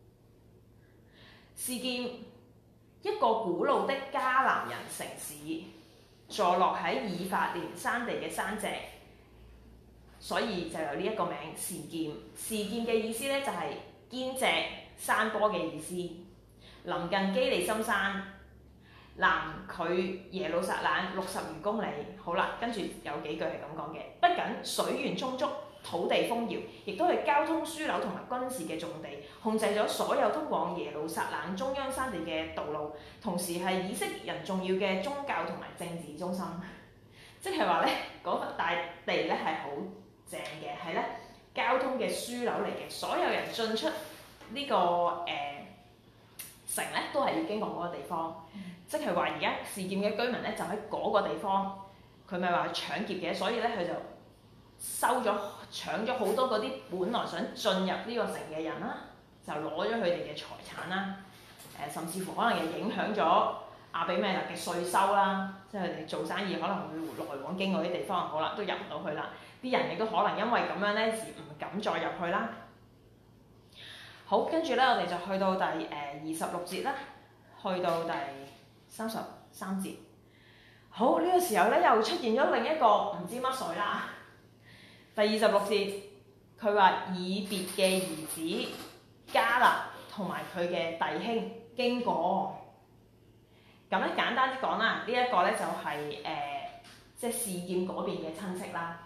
示劍一個古老的迦南人城市，坐落喺以法蓮山地嘅山脊。所以就有呢一個名示劍。示劍嘅意思咧就係堅脊山坡嘅意思。臨近基利心山，南距耶路撒冷60餘公里。好啦，跟住有幾句係咁講嘅。不僅水源充足，土地豐饒，亦都係交通樞紐同埋軍事嘅重地，控制咗所有通往耶路撒冷中央山地嘅道路，同時係以色列人重要嘅宗教同埋政治中心。即係話咧，嗰塊大地咧係好正嘅，係咧交通嘅樞紐嚟嘅，所有人進出呢、個城咧都係要經過嗰個地方。即係話而家示劍嘅居民咧就喺嗰個地方，佢咪話搶劫嘅，所以咧佢就搶咗好多嗰啲本來想進入呢個城嘅人啦，就攞咗佢哋嘅財產啦，甚至乎可能又影響咗亞比米勒嘅稅收啦，即係佢哋做生意可能會來往經過啲地方，好啦都入唔到去啦。啲人亦都可能因為咁樣咧而唔敢再入去啦。好，跟住咧我哋就去到第26節啦，去到第33節。好，呢個時候咧又出現咗另一個唔知乜水啦。第26節，佢話以別嘅兒子迦勒同埋佢嘅弟兄經過。咁咧簡單啲講啦，呢一個咧就係即係示劍嗰邊嘅親戚啦。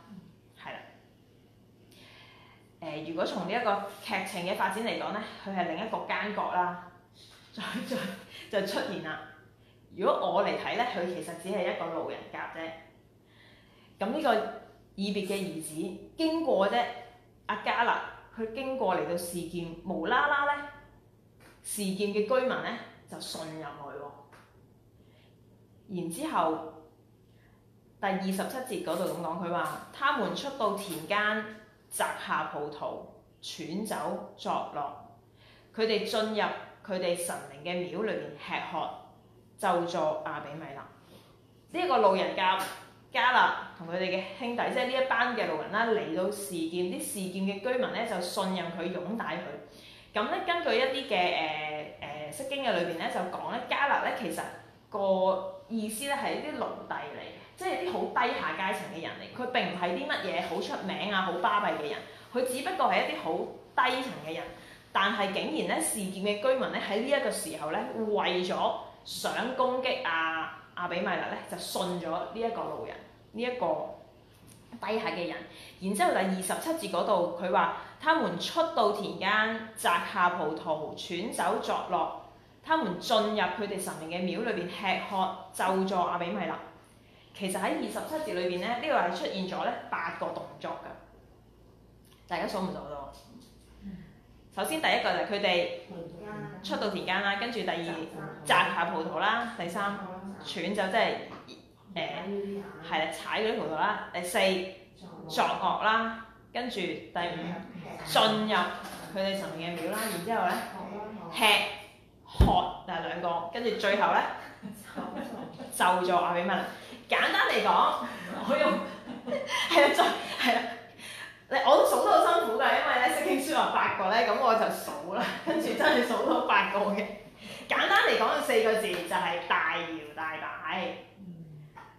如果從呢一個劇情嘅發展嚟講咧，佢係另一個奸角啦，就出現啦。如果我嚟睇咧，佢其實只係一個路人甲啫。咁呢個以別嘅兒子經過啫，阿迦勒佢經過嚟到示劍，無啦啦咧，示劍嘅居民咧就信任佢喎。然之後第27節嗰度咁講，佢話：他們出到田間，摘下葡萄，踹酒作樂。佢哋進入佢哋神明嘅廟裏邊吃喝，咒詛亞比米勒。呢一個路人甲迦勒同佢哋嘅兄弟，即係呢一班嘅路人啦，嚟到示劍，啲示劍嘅居民咧就信任佢，擁戴佢。咁咧根據一啲嘅釋經嘅裏邊咧就講咧，迦勒咧其實個意思咧係一啲奴隸嚟嘅，即係啲好低下階層嘅人嚟。佢並唔係啲乜嘢好出名啊、好巴閉嘅人，佢只不過係一啲好低層嘅人。但係竟然咧，示劍嘅居民咧喺呢一個時候咧，為咗想攻擊亞比米勒咧，就信咗呢一個路人，呢、這、一個低下嘅人。然之後第27節嗰度，佢話：他們出到田間，摘下葡萄，踹酒作樂。他們進入佢哋神明嘅廟裏邊吃喝，咒詛亞比米勒。其實喺27節裏邊咧，呢個係出現咗咧8個動作㗎。大家數唔數到？首先第一個就係佢哋出到田間啦，跟住第二摘下葡萄啦，第三踹酒即係係啦踩嗰啲葡萄啦，第四作樂啦，跟住第五進入佢哋神明嘅廟啦，然之後咧吃喝就係兩個，跟住最後咧咒詛亞比米勒。簡單嚟講，我用係啦，係啦。我都數得好辛苦㗎，因為咧釋經書話8個咧，咁我就數啦，跟住真係數到8個嘅。簡單嚟講，4個字就係大搖大擺。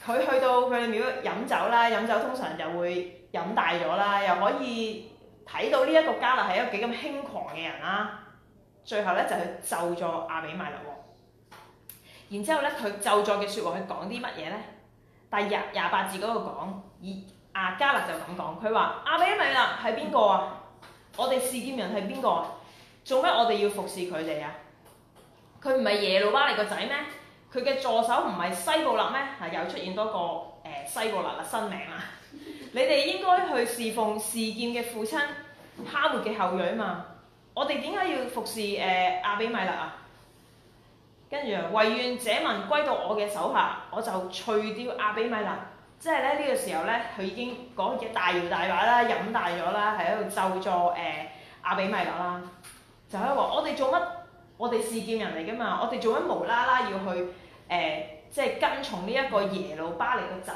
佢去到佢哋廟飲酒啦，飲酒通常就會飲大咗啦，又可以睇到呢一個迦勒係一個幾咁輕狂嘅人啦。最後咧就去咒詛亞比米勒喎。然之後咧佢咒詛嘅説話佢講啲乜嘢咧？第28節嗰度講，迦勒就咁講，佢話亞比米勒係邊個啊？我哋示劍人係邊個啊？做咩我哋要服侍佢哋啊？佢唔係耶路巴力個仔咩？佢嘅助手唔係西布勒咩？又出現多個西布勒啦新名啦。你哋應該去侍奉示劍嘅父親哈末嘅後裔嘛。我哋點解要服侍亞比米勒啊？跟住惟願這民歸到我嘅手下，我就除掉亞比米勒。即係咧呢個時候咧，佢已經講嘅大搖大擺啦，飲大咗啦，喺度咒詛亞比米勒啦。就喺度話我哋做乜？我哋示劍人嚟噶嘛？我哋做乜無啦啦要去即係跟從呢一個耶路巴力個仔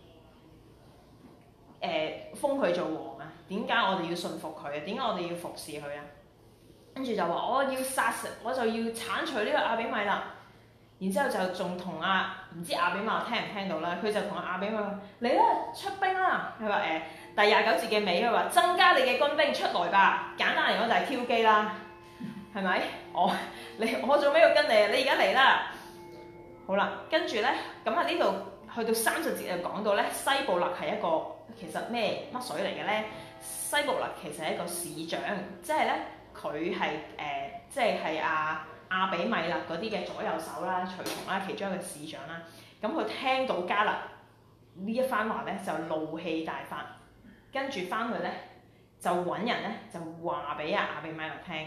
封佢做王啊？點解我哋要順服佢啊？點解我哋要服侍佢啊？跟住就話我要殺食，我就要剷除呢個亞比米勒。然之後就仲同唔知亞比米勒聽唔聽到啦？佢就同亞比米勒嚟啦，出兵啦！佢話第29節嘅尾佢話增加你嘅軍兵出來吧。簡單嚟講就係挑機啦，係咪？我做咩要跟你啊？你而家嚟啦！好啦，跟住咧咁啊呢度去到30節就講到咧西布勒係一個其實乜水嚟嘅咧？西布勒其實係一個市長，即係咧佢係即係亞比米勒嗰啲嘅左右手啦、隨從啦，其中一個市長啦。咁佢聽到迦勒呢一番話咧，就怒氣大發，跟住翻去咧就揾人咧就話俾亞比米勒聽。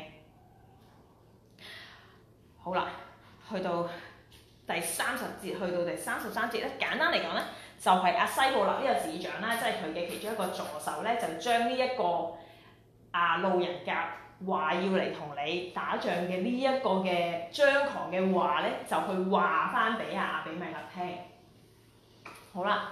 好啦，去到第30節，去到第33節咧，簡單嚟講咧，就係西布勒呢個市長啦，即係佢嘅其中一個助手咧，就將呢一個路人甲話要嚟同你打仗嘅呢一個嘅張狂嘅話咧，就去話翻俾亞比米勒聽。好啦，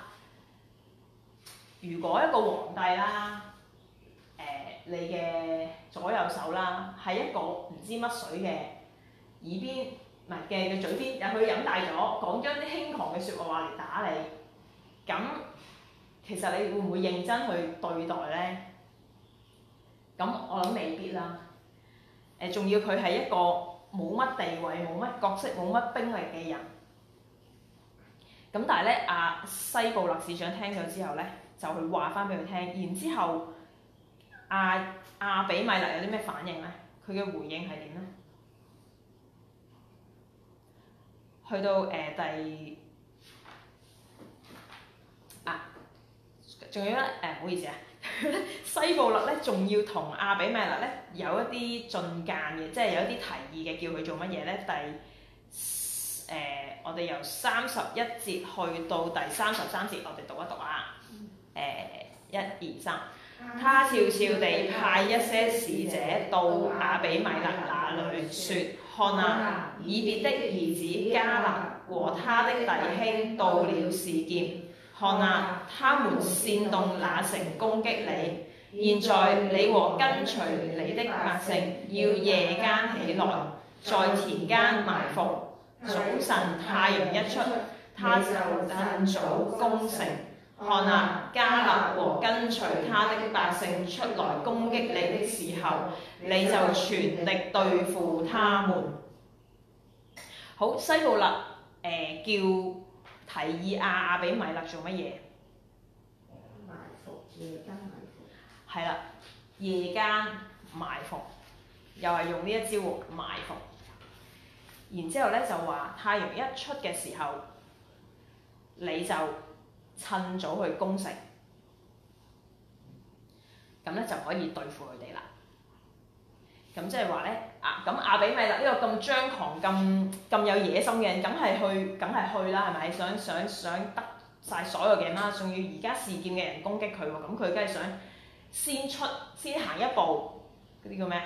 如果一個皇帝啦，你嘅左右手啦，係一個唔知乜水嘅耳邊，唔係嘅嘴邊，又去飲大咗，講咗啲輕狂嘅説話嚟打你，咁其實你會唔會認真去對待咧？咁我諗未必啦。仲要佢係一個冇乜地位、冇乜角色、冇乜兵力嘅人。咁但係咧，西布勒市長聽咗之後咧，就去話翻俾佢聽。然之後，亞比米勒有啲咩反應咧？佢嘅回應係點咧？去到仲有咧唔好意思啊。西布勒咧，仲要同亞比米勒咧有一啲進諫嘅，即係有一啲提議嘅，叫佢做乜嘢咧？我哋由31節去到第33節，我哋讀一讀啊。1、2、3，他悄悄地派一些使者到亞比米勒那裡，說：看啊，以別的兒子迦勒和他的弟兄到了示劍。看啊，他們煽動那城攻擊你。現在你和跟隨你的百姓要夜間起來，在田間埋伏。早晨太陽一出，他就更早攻城。看啊，迦勒和跟隨他的百姓出來攻擊你的時候，你就全力對付他們。好，西布勒提議亞比米勒做乜嘢？ 埋伏，夜間埋伏。 係啦，夜間埋伏，又係用呢一招喎，埋伏。然之後咧就話太陽一出嘅時候，你就趁早去攻城，咁咧就可以對付佢哋啦。咁即係話咧，咁亞比米勒呢個咁張狂、咁有野心嘅人，梗係去啦，係咪？想得晒所有嘅人啦，仲要而家示劍嘅人攻擊佢喎，咁佢梗係想先行一步，嗰啲叫咩啊？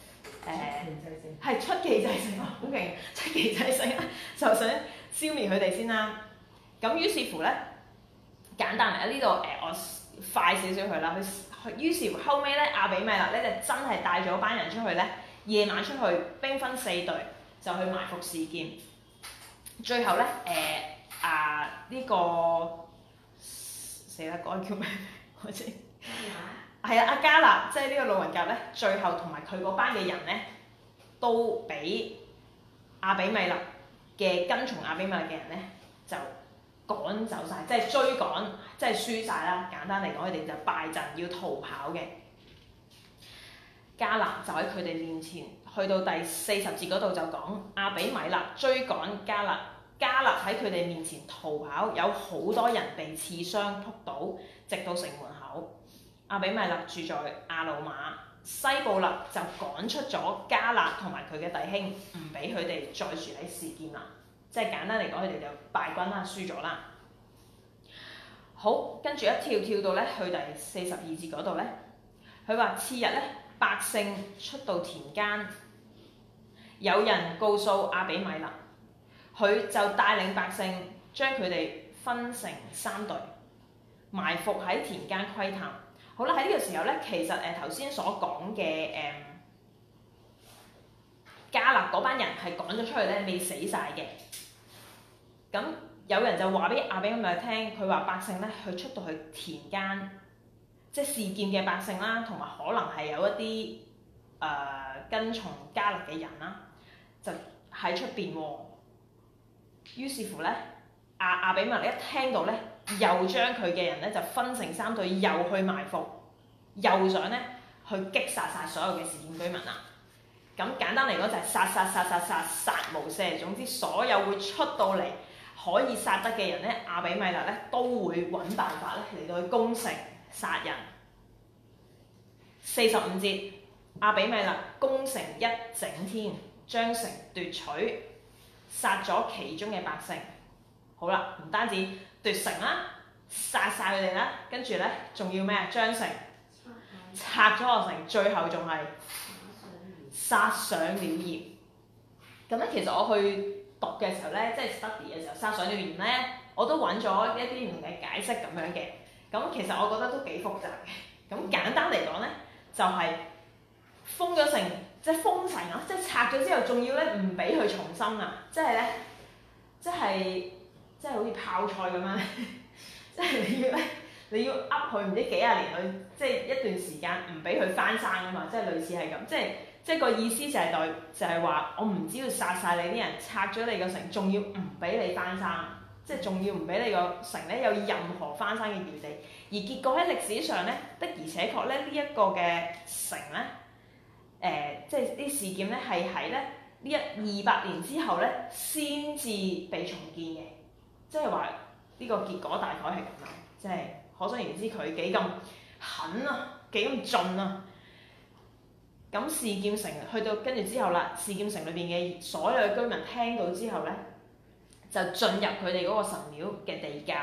係出奇制勝啊！好勁，出奇制勝啊！就想消滅佢哋先啦。咁於是乎咧，簡單嚟呢度我快少少去啦。佢於是乎後尾咧，亞比米勒咧就真係帶咗班人出去咧，夜晚出去兵分4隊，就去埋伏示劍。最後咧呢個死啦，嗰個叫咩？我知係啊，阿迦勒即係呢個路人甲咧，最後同埋佢嗰班嘅人咧，都俾亞比米勒嘅跟從亞比米勒嘅人咧就趕走晒，即係追趕，即係輸晒啦。簡單嚟講，佢哋就敗陣要逃跑嘅。迦勒就喺佢哋面前，去到第40節嗰度就講亞比米勒追趕迦勒，迦勒喺佢哋面前逃跑，有好多人被刺傷撲倒，直到城門口。亞比米勒住在亞魯瑪，西布勒就趕出咗迦勒同埋佢嘅弟兄，唔俾佢哋再住喺示劍啦。即係簡單嚟講，佢哋就敗軍啦，輸咗啦。好，跟住一跳到咧去第42節嗰度咧，佢話次日咧，百姓出到田間，有人告訴亞比米勒，佢就帶領百姓將佢哋分成3隊，埋伏喺田間窺探。好啦，喺呢個時候咧，其實頭先所講嘅迦勒嗰班人係趕咗出去咧，未死晒嘅。咁有人就話俾亞比米勒聽，佢話百姓咧，佢出到去田間，即係示劍嘅百姓啦，同埋可能係有一啲跟從迦勒嘅人啦，就喺出邊喎。於是乎咧，亞比米勒一聽到咧，又將佢嘅人咧就分成3隊，又去埋伏，又想咧去擊殺晒所有嘅示劍居民啦。咁簡單嚟講就係殺無赦，總之所有會出到嚟可以殺得嘅人咧，亞比米勒咧都會揾辦法咧嚟到去攻城殺人。45節，亞比米勒攻城一整天，將城奪取，殺咗其中嘅百姓。好啦，唔單止奪城啦，殺晒佢哋啦，跟住咧仲要咩啊？將城拆咗個城，最後仲係殺上了鹽。咁咧，其實我去讀嘅時候咧，即係 study 嘅時候，殺上了鹽咧，我都揾咗一啲唔同嘅解釋咁樣嘅。咁其實我覺得都幾複雜嘅。咁簡單嚟講咧，就係封咗城，即係封城啊！即係拆咗之後，仲要咧唔俾佢重生啊！即係咧，即係好似泡菜咁樣，即係你要噏佢唔知幾廿年佢，即係一段時間唔俾佢翻生啊嘛！即係類似係咁，即係個意思就係話我唔只要殺晒你啲人，拆咗你個城，仲要唔俾你翻生，即係仲要唔俾你個城咧有任何翻生嘅餘地。而結果喺歷史上咧，的而且確咧呢一個嘅城咧，即係啲事件咧係喺咧呢200年之後咧先至被重建嘅，即係話呢個結果大概係咁啦，即係可想而知佢幾咁狠啊，幾咁盡啊！咁示劍城去到跟住之後啦，示劍城裏邊嘅所有嘅居民聽到之後咧，就進入佢哋嗰個神廟嘅地窖。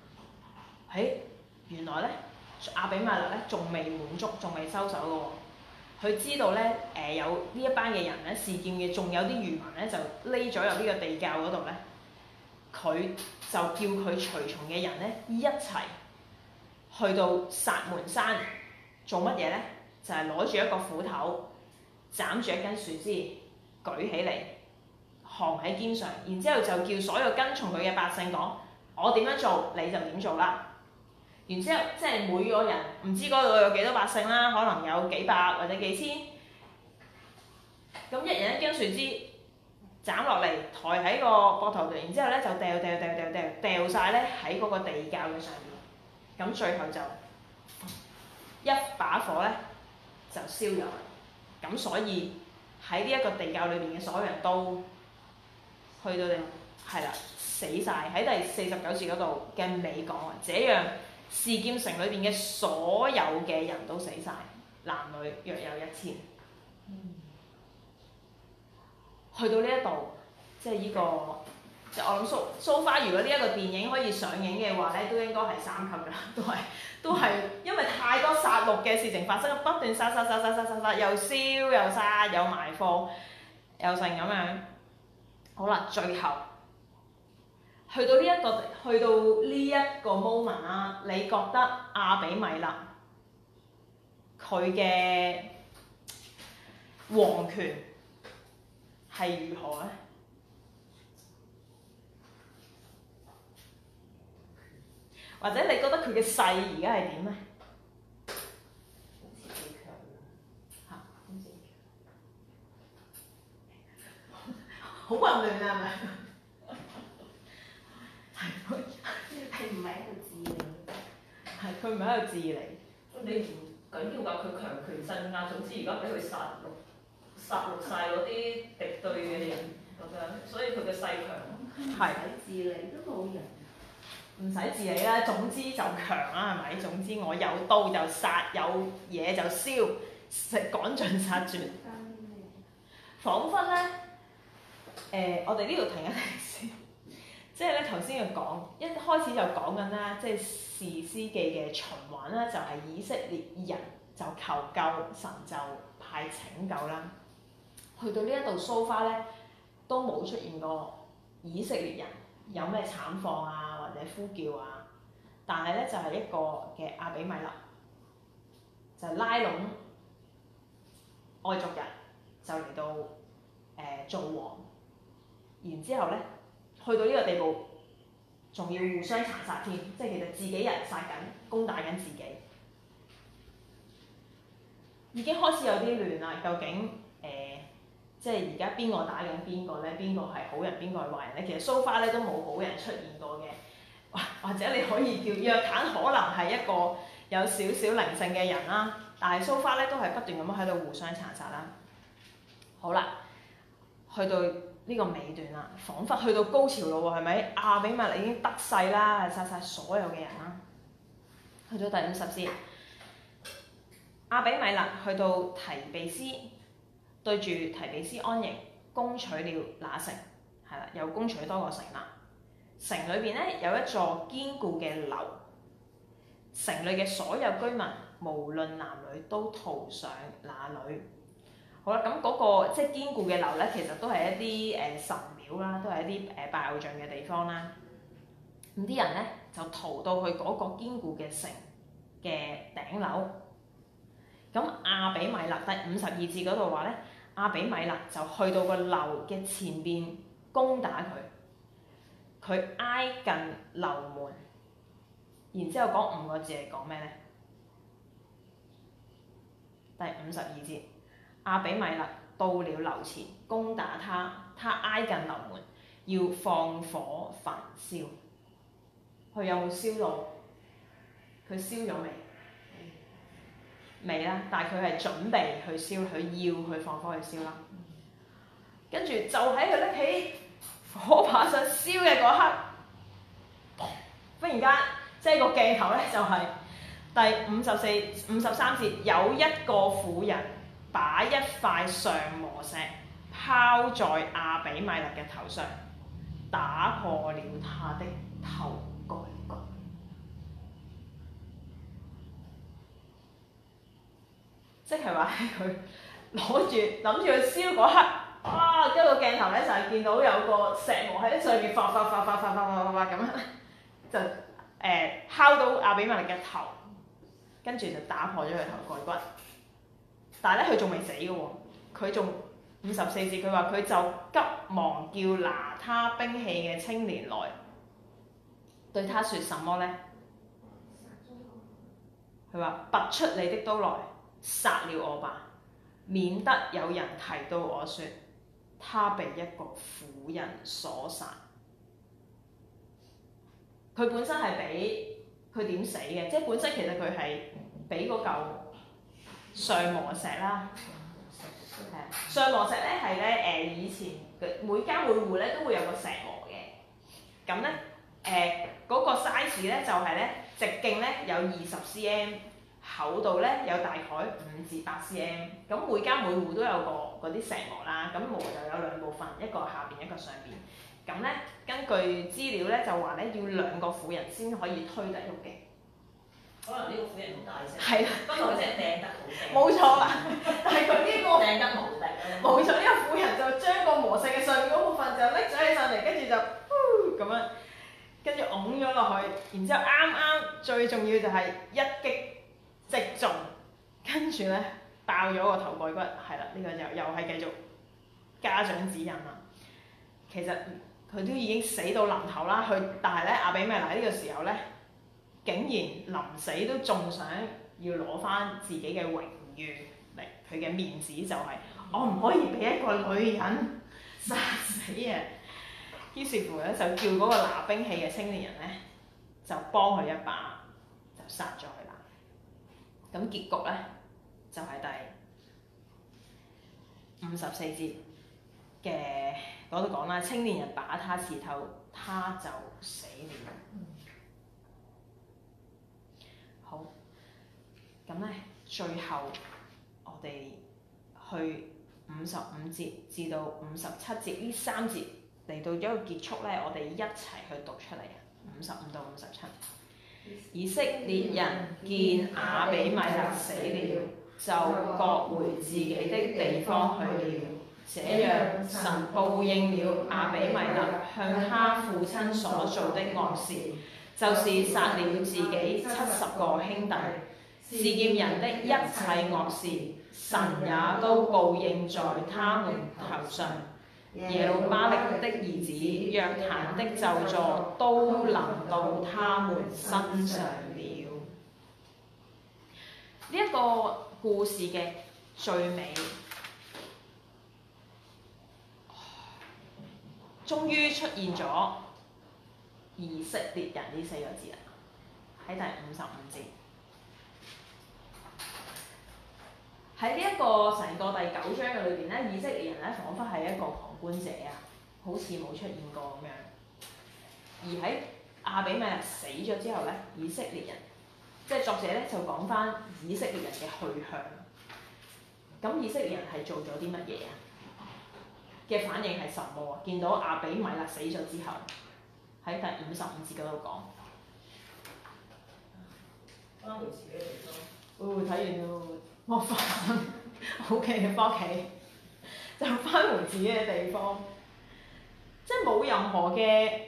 原來咧亞比米勒咧仲未滿足，仲未收手嘅喎。佢知道咧有呢一班嘅人咧示劍嘅，仲有啲餘民咧就匿咗入呢個地窖嗰度咧，佢就叫佢隨從嘅人咧一齊去到薩門山做乜嘢咧？就係攞住一個斧頭，斬住一根樹枝，舉起嚟，扛喺肩上，然之後就叫所有跟從佢嘅百姓講：我點樣做你就點做啦。然之後即係每個人唔知嗰度有幾多百姓啦，可能有幾百或者幾千，咁一人一根樹枝斬落嚟，抬喺個膊頭度，然之後咧就掉晒咧喺嗰個地窖嘅上面，咁最後就一把火咧就燒咗，咁所以喺呢一個地窖裏邊嘅所有人都去到係啦死晒。喺第49節嗰度嘅尾講啊，這樣示劍城裏邊嘅所有嘅人都死晒，男女約有1000。去到呢一度，即係呢個，即係我諗so far，如果呢一個電影可以上映嘅話咧，都應該係3級㗎啦，都係因為太多殺戮嘅事情發生，不斷殺，又燒又殺又埋伏又成咁樣。好啦，最後去到呢一個 moment 啦，你覺得亞比米勒佢嘅皇權係如何咧？ 或者你覺得佢嘅勢而家係點咧？ 好似幾強喎。 嚇，好混亂啊，係咪？ 佢唔係喺度治理。 係，佢唔係喺度治理。 你唔緊要㗎，佢強權鎮壓，總之而家俾佢殺戮晒嗰啲敵對嘅人咁樣，所以佢嘅勢強。 係。 唔使治理都冇人。 唔使治理啦，總之就強啦，係咪？總之我有刀就殺，有嘢就燒，趕盡殺絕。彷彿咧，我哋呢度停一停先。即係咧頭先佢講，一開始就講緊啦，即係士師記嘅循環啦，就係以色列人就求救，神就派拯救啦。去到呢一度蘇花咧，都冇出現過以色列人有咩慘況啊，或者呼叫啊。但係咧就係一個嘅亞比米勒，就拉攏外族人，就嚟到做王。然之後咧，去到呢個地步，仲要互相殘殺添，即係其實自己人殺緊，攻打緊自己，已經開始有啲亂啦。究竟即係而家邊個打緊邊個咧？邊個係好人，邊個係壞人咧？其實蘇花咧都冇好人出現過嘅，或者你可以叫約坦可能係一個有少少靈性嘅人啦，但係蘇花咧都係不斷咁樣喺度互相殘殺啦。好啦，去到呢個尾段啦，彷彿去到高潮咯喎，係咪？亞比米勒已經得勢啦，殺晒所有嘅人啦。去到第50節，亞比米勒去到提比斯，對住提比斯安營，攻取了那城，係啦，又攻取多個城啦。城裏邊咧有一座堅固嘅樓，城裏嘅所有居民無論男女都逃上那裏。好啦，咁嗰個即係堅固嘅樓咧，其實都係一啲神廟啦，都係一啲拜偶像嘅地方啦。咁啲人咧就逃到去嗰個堅固嘅城嘅頂樓。咁亞比米勒第52節嗰度話咧，亞比米勒就去到個樓嘅前邊攻打佢，佢挨近樓門，然之後講5個字係講咩咧？第52節。亞比米勒到了樓前攻打他，他挨近樓門，要放火焚燒。佢有冇燒到？佢燒咗未？未啦，但係佢係準備去燒，佢要去放火去燒啦。跟住就喺佢拎起火把想燒嘅嗰刻，忽然間即係個鏡頭咧就係第53節，有一個婦人把一塊上磨石拋在亞比米勒嘅頭上，打破了他的頭蓋骨。即係話佢攞住諗住去燒嗰刻，哇！跟住個鏡頭咧就係見到有個石磨喺上面發咁樣，就敲到亞比米勒嘅頭，跟住就打破咗佢頭蓋骨。但係咧，佢仲未死嘅喎，佢仲54節，佢話佢就急忙叫拿他兵器嘅青年來，對他說什麼呢？佢話：拔出你的刀來，殺了我吧，免得有人提到我說他被一個婦人所殺。佢本身係俾佢點死嘅？即係本身其實佢係俾嗰嚿上磨石啦，係上磨石咧係咧以前每家每戶咧都會有個石磨嘅，咁咧嗰個 size 咧就係咧直徑咧有20 cm， 厚度咧有大概5至8 cm， 咁每家每戶都有個嗰啲石磨啦，咁磨就有兩部分，一個下邊一個上邊，咁咧根據資料咧就話咧要2個婦人先可以推得喐嘅。 可能呢個婦人好大聲， 係啦， 不過佢真係掟得好正。 冇錯啦，但係佢呢個掟得無敵啊！ 冇錯，呢個婦人就將個磨石嘅上面嗰部分就拎咗起上嚟，跟住就咁樣，跟住拱咗落去，然之後啱最重要就係一擊即中，跟住咧爆咗個頭蓋骨，係啦，呢個又係繼續家長指引啦。其實佢都已經死到臨頭啦，但係咧亞比米勒呢個時候咧竟然臨死都仲想要攞翻自己嘅榮譽嚟，佢嘅面子就係、我唔可以俾一個女人殺死啊！於是乎咧就叫嗰個拿兵器嘅青年人咧就幫佢一把，就殺咗佢啦。咁結局咧就係、第54節嘅嗰度講啦，青年人把他刺透，他就死了。好，咁咧最後我哋去55節至到57節呢3節嚟到咗個結束咧，我哋一齊去讀出嚟啊！55到57，以色列人見亞比米勒死了，就各回自己的地方去了。這樣神報應了亞比米勒向他父親所做的惡事，就是殺了自己70個兄弟。示劍人的一切惡事，神也都報應在他們頭上。耶路巴力的兒子約坦的咒詛都臨到他們身上了。呢一個故事嘅最尾，終於出現咗以色列人呢4個字啦，喺第55節。喺呢一個成個第9章嘅裏邊咧，以色列人咧彷彿係一個旁觀者啊，好似冇出現過咁樣。而喺亞比米勒死咗之後咧，以色列人即係作者咧就講翻以色列人嘅去向。咁以色列人係做咗啲乜嘢啊？嘅反應係什麼啊？見到亞比米勒死咗之後，喺第55節嗰度講。 翻回自己地方。 哦，睇完咯，我煩，OK，翻屋企就翻回自己嘅地方，即係冇任何嘅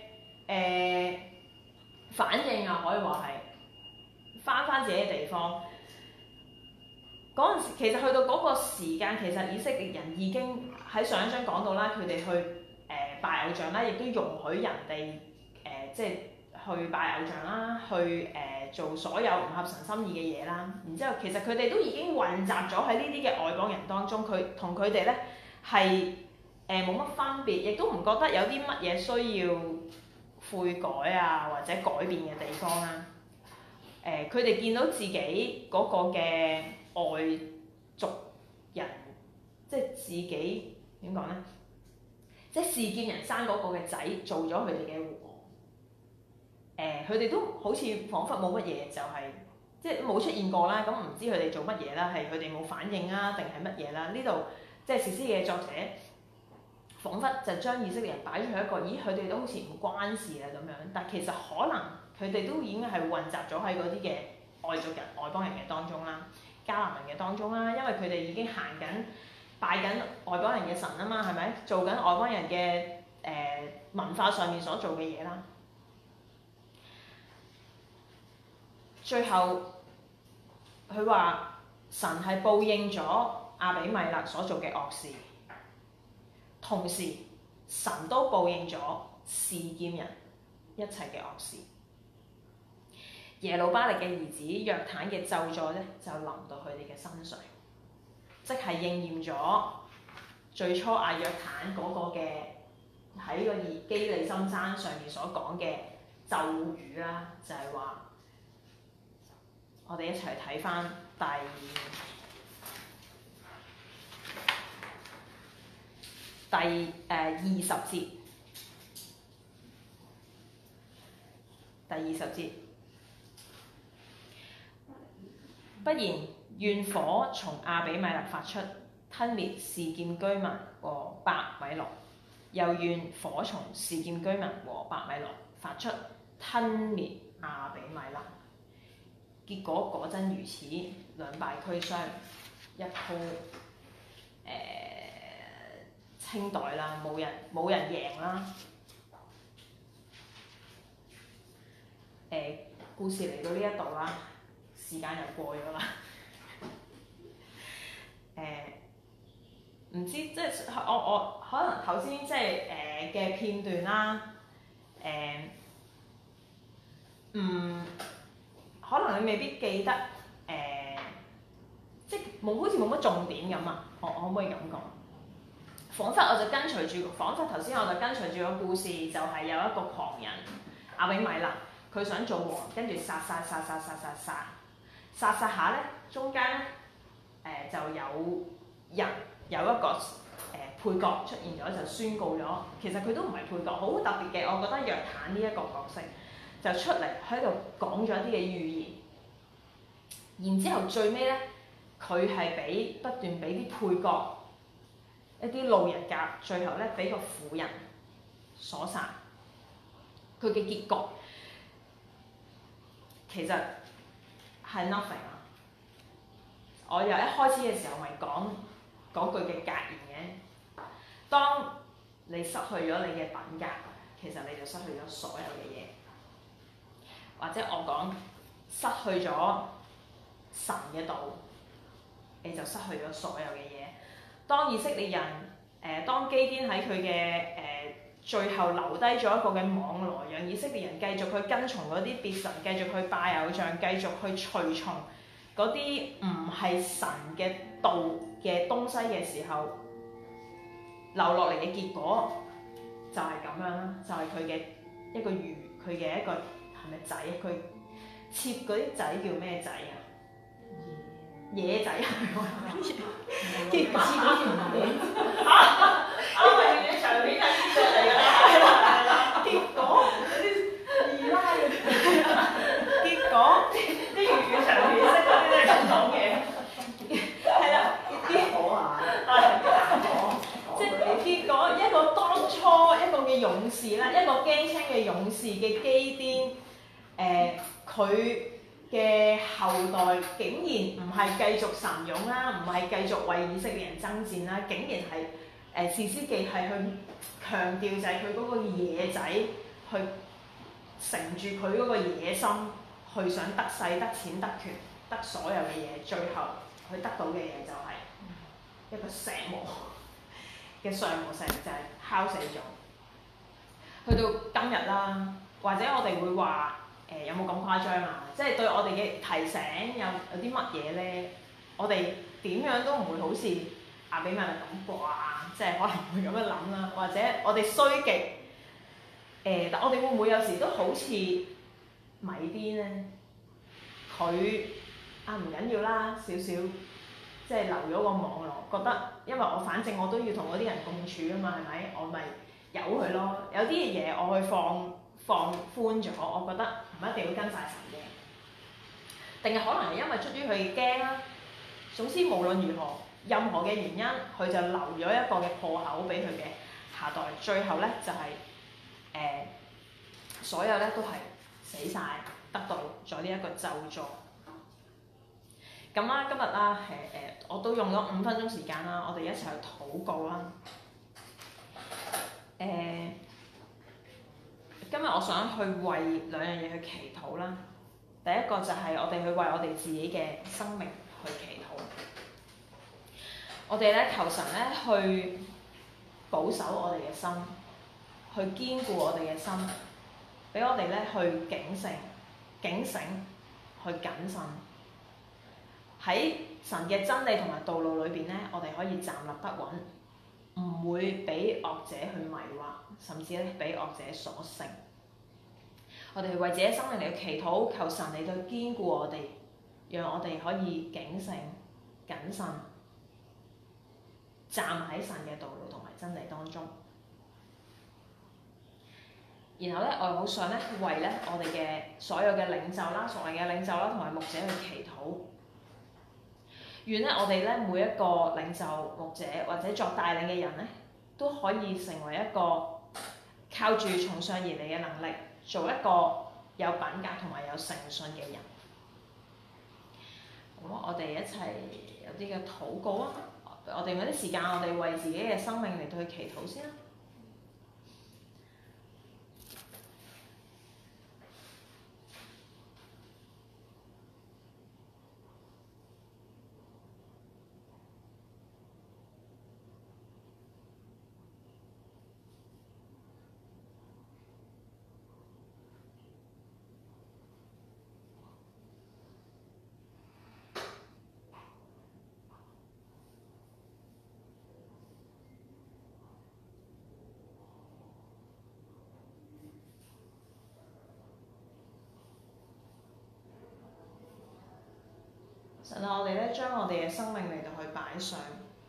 反應啊，可以話係翻自己嘅地方。嗰陣時其實去到嗰個時間，其實以色列人已經喺上一章講到啦，佢哋去拜偶像啦，亦都容許人哋即係去拜偶像啦，去做所有唔合神心意嘅嘢啦。然之後其實佢哋都已經混雜咗喺呢啲嘅外邦人當中，佢同佢哋咧係冇乜分別，亦都唔覺得有啲乜嘢需要悔改啊或者改變嘅地方啦。佢哋見到自己嗰個嘅外族人，即係自己點講咧？即係示劍人生嗰個嘅仔做咗佢哋嘅王，佢哋都好似彷彿冇乜嘢，就係即係冇出現過啦。咁唔知佢哋做乜嘢啦？係佢哋冇反應啊，定係乜嘢啦？呢度即係士師嘅作者，彷彿就將以色列人擺咗喺一個，咦？佢哋都好似唔關事啊咁樣。但其實可能佢哋都已經係混雜咗喺嗰啲嘅外族人、外邦人嘅當中啦。迦南人嘅當中啦，因為佢哋已經行緊拜緊外邦人嘅神啊嘛，係咪？做緊外邦人嘅文化上面所做嘅嘢啦。最後佢話神係報應咗亞比米勒所做嘅惡事，同時神都報應咗示劍人一切嘅惡事。耶路巴力嘅兒子約坦嘅咒詛咧，就臨到佢哋嘅身上，即係應驗咗最初阿約坦嗰個嘅喺個基利心山上面所講嘅咒語啦，就係話我哋一齊睇翻第20節，第20節。不然，願火從亞比米勒發出，吞滅示劍居民和伯米倫；又願火從示劍居民和伯米倫發出，吞滅亞比米勒。結果果真如此，兩敗俱傷，一鋪清袋啦，冇人贏啦。故事嚟到呢一度啦。時間又過咗啦，唔知即係我可能頭先即係嘅片段啦， 可能你未必記得即係好似冇乜重點咁啊！我可唔可以咁講？彷彿我就跟隨住，彷彿頭先我就跟隨住個故事，就係有一個狂人亞比米勒，佢想做王，跟住殺下咧，中間咧就有人有一個配角出現咗，就宣告咗，其實佢都唔係配角，好特別嘅。我覺得約坦呢一個角色就出嚟喺度講咗一啲嘅預言，然之後最尾咧，佢係不斷俾啲配角一啲路人甲，最後咧俾個婦人所殺。佢嘅結局其實係 nothing 啊！我由一開始嘅時候咪講嗰句嘅格言嘅，當你失去咗你嘅品格，其實你就失去咗所有嘅嘢，或者我講失去咗神嘅道，你就失去咗所有嘅嘢。當以色列人當基甸喺佢嘅最後留低咗一個嘅網羅，讓以色列人繼續去跟從嗰啲別神，繼續去拜偶像，繼續去隨從嗰啲唔係神嘅道嘅東西嘅時候，留落嚟嘅結果就係咁樣啦，就係佢嘅一個佢嘅一個係咪仔？佢切嗰啲仔叫咩仔啊？野仔係咪？結果嘅場面係呢個嚟㗎啦，係啦。結果嗰啲二奶嗰啲，結果啲粵語場面識嗰啲都係咁講嘅，係啦。結果啊，即係結果一個當初一個嘅勇士啦，一個驚青嘅勇士嘅基甸，佢嘅後代竟然唔係繼續神勇啦，唔係繼續為以色列人爭戰啦，竟然係士師記係去強調就係佢嗰個野仔去乘住佢嗰個野心，去想得勢、得錢、得權、得所有嘅嘢，最後佢得到嘅嘢就係一個石磨嘅上磨石，就係敲死咗。去到今日啦，或者我哋會話有冇咁誇張啊？即係對我哋嘅提醒有啲乜嘢咧？我哋點樣都唔會好似亞比米勒咁啩，即係可能會咁樣諗啦。或者我哋衰極但我哋會唔會有時都好似米甸咧？佢唔緊要啦，少少即係留咗個網絡，覺得因為我反正我都要同嗰啲人共處啊嘛，係咪？我咪由佢咯。有啲嘢我去放寬咗，我覺得唔一定要跟晒神嘅，定係可能係因為出於佢驚啦。總之無論如何，任何嘅原因，佢就留咗一個嘅破口俾佢嘅下代。最後咧就係所有咧都係死晒，得到咗呢一個咒詛。咁啦，今日啦我都用咗5分鐘時間啦，我哋一齊去禱告啦。今日我想去為2樣嘢去祈禱啦。第一個就係我哋去為我哋自己嘅生命去祈禱。我哋咧求神咧去保守我哋嘅心，去堅固我哋嘅心，俾我哋咧去警醒、去謹慎。喺神嘅真理同埋道路裏邊咧，我哋可以站立得穩，唔會俾惡者去迷惑，甚至咧俾惡者所勝。我哋為自己生命嚟去祈禱，求神嚟到堅固我哋，讓我哋可以警醒、謹慎，站喺神嘅道路同埋真理當中。然後咧，我好想咧為咧我哋嘅所有嘅領袖啦、屬靈嘅領袖啦同埋牧者去祈禱。願咧我哋咧每一個領袖、牧者或者作帶領嘅人咧，都可以成為一個靠住從上而嚟嘅能力，做一個有品格同埋有誠信嘅人。好，我哋一齊有啲嘅禱告啊！我哋用啲時間，我哋為自己嘅生命嚟到去祈禱先啦。 神啊，我哋咧將我哋嘅生命嚟到去擺上。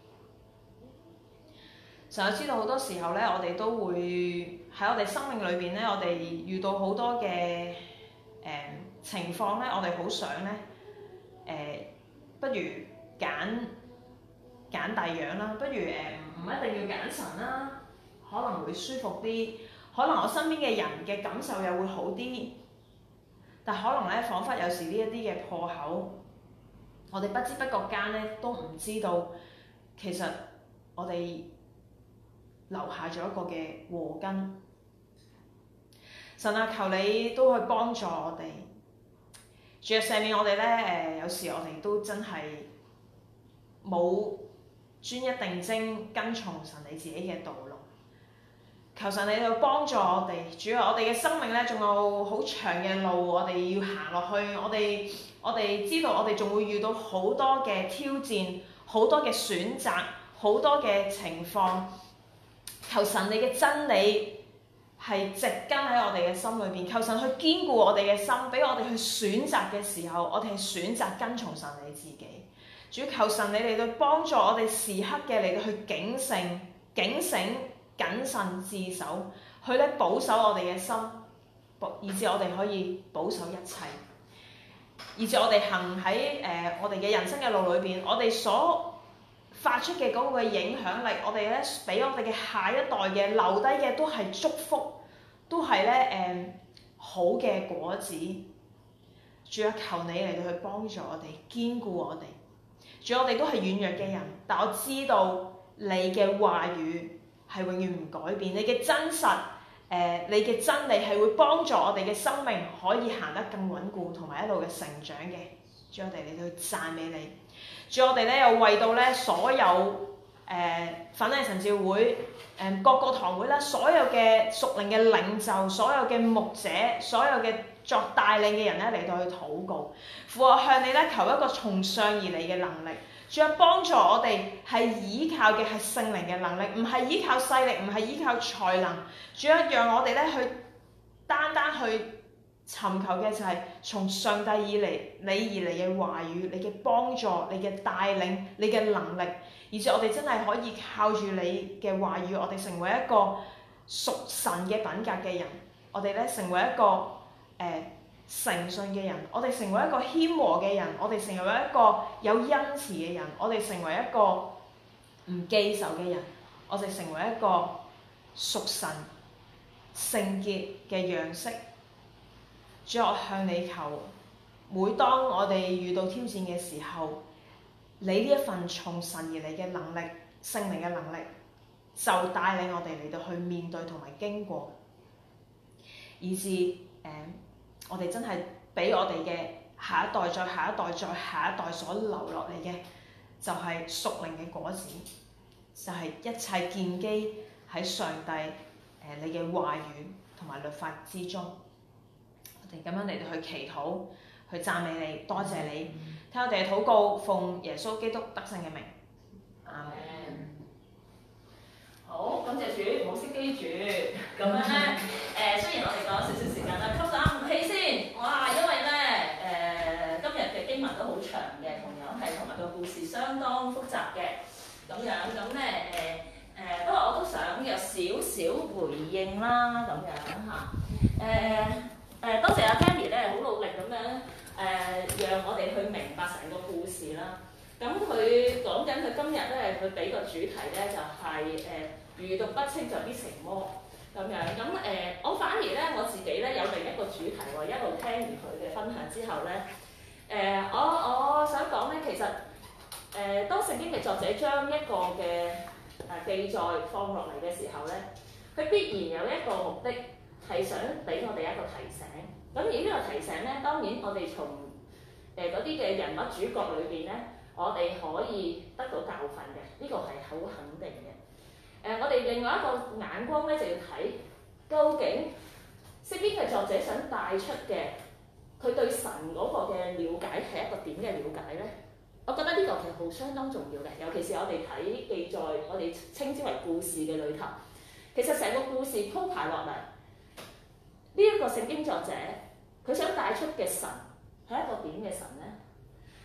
神啊，知道好多時候咧，我哋都會喺我哋生命裏邊咧，我哋遇到好多嘅情況咧，我哋好想咧不如揀第樣啦，不如唔一定要揀神啦，可能會舒服啲，可能我身邊嘅人嘅感受又會好啲，但可能咧，彷彿有時呢一啲嘅破口，我哋不知不覺間咧都唔知道，其實我哋留下咗一個嘅禍根。神啊，求你都去幫助我哋。主啊，赦免我哋咧有時我哋都真係冇專一定睛跟從神你自己嘅道路。求神你去幫助我哋。主啊，我哋嘅生命咧仲有好長嘅路，我哋要行落去。我哋知道我哋仲會遇到好多嘅挑戰，好多嘅選擇，好多嘅情況。求神你嘅真理係植根喺我哋嘅心裏邊，求神去堅固我哋嘅心，俾我哋去選擇嘅時候，我哋係選擇跟從神你自己。主，求神你嚟到幫助我哋時刻嘅嚟到去警醒、謹慎自守，去咧保守我哋嘅心，以致我哋可以保守一切，以致我哋行喺我哋嘅人生嘅路裏邊，我哋所發出嘅嗰個影響力，我哋咧俾我哋嘅下一代嘅留低嘅都係祝福，都係咧好嘅果子。主啊，求你嚟到去幫助我哋，堅固我哋。主，我哋都係軟弱嘅人，但我知道你嘅話語係永遠唔改變，你嘅真實你嘅真理係會幫助我哋嘅生命可以行得更穩固，同埋一路嘅成長嘅。主，我哋嚟到去讚美你。主，我哋咧又為到咧所有粉嶺神召會各個堂會啦，所有嘅屬靈嘅領袖，所有嘅牧者，所有嘅作帶領嘅人咧嚟到去禱告。父啊，向你咧求一個從上而嚟嘅能力。主啊，幫助我哋係依靠嘅係聖靈嘅能力，唔係依靠勢力，唔係依靠才能。主啊，讓我哋咧去單單去尋求嘅就係從上帝你而嚟嘅話語，你嘅幫助，你嘅帶領，你嘅能力，而且我哋真係可以靠住你嘅話語，我哋成為一個屬神嘅品格嘅人，我哋咧成為一個誠信嘅人，我哋成為一個謙和嘅人，我哋成為一個有恩慈嘅人，我哋成為一個唔記仇嘅人，我哋成為一個屬神聖潔嘅樣式。主，我向你求，每當我哋遇到挑戰嘅時候，你呢一份從神而嚟嘅能力、聖靈嘅能力，就帶領我哋嚟到去面對同埋經過，以致我哋真係俾我哋嘅下一代、再下一代、再下一代所留落嚟嘅，就係屬靈嘅果子，就係一切建基喺上帝你嘅話語同埋律法之中。我哋咁樣嚟到去祈禱、去讚美你，多謝你，聽我哋嘅禱告，奉耶穌基督得勝嘅名，阿們。 好，感謝主，唔好熄機住。咁樣咧，雖然我哋講少少時間啦，吸啖氣先。哇，因為咧今日嘅經文都好長嘅，同樣係同埋個故事相當複雜嘅。咁樣咁咧不過我都想有少少回應啦，咁樣嚇。多謝阿 Tammy 咧，好努力咁樣讓我哋去明白成個故事啦。咁佢講緊佢今日咧，佢俾個主題咧就係愚毒不清就必成魔咁樣。咁我反而咧我自己咧有另一個主題喎，一路聽完佢嘅分享之後咧，我想講咧，其實當聖經嘅作者將一個嘅記載放落嚟嘅時候咧，佢必然有一個目的係想俾我哋一個提醒。咁而呢個提醒咧，當然我哋從嗰啲嘅人物主角裏邊咧，我哋可以得到教訓嘅，呢個係好肯定嘅。我哋另外一個眼光咧，就要睇究竟聖經嘅作者想帶出嘅，佢對神嗰個嘅了解係一個點嘅了解咧？我覺得呢個其實好相當重要嘅，尤其是我哋睇記載，我哋稱之為故事嘅裏頭，其實成個故事鋪排落嚟，呢一個聖經作者佢想帶出嘅神係一個點嘅神咧？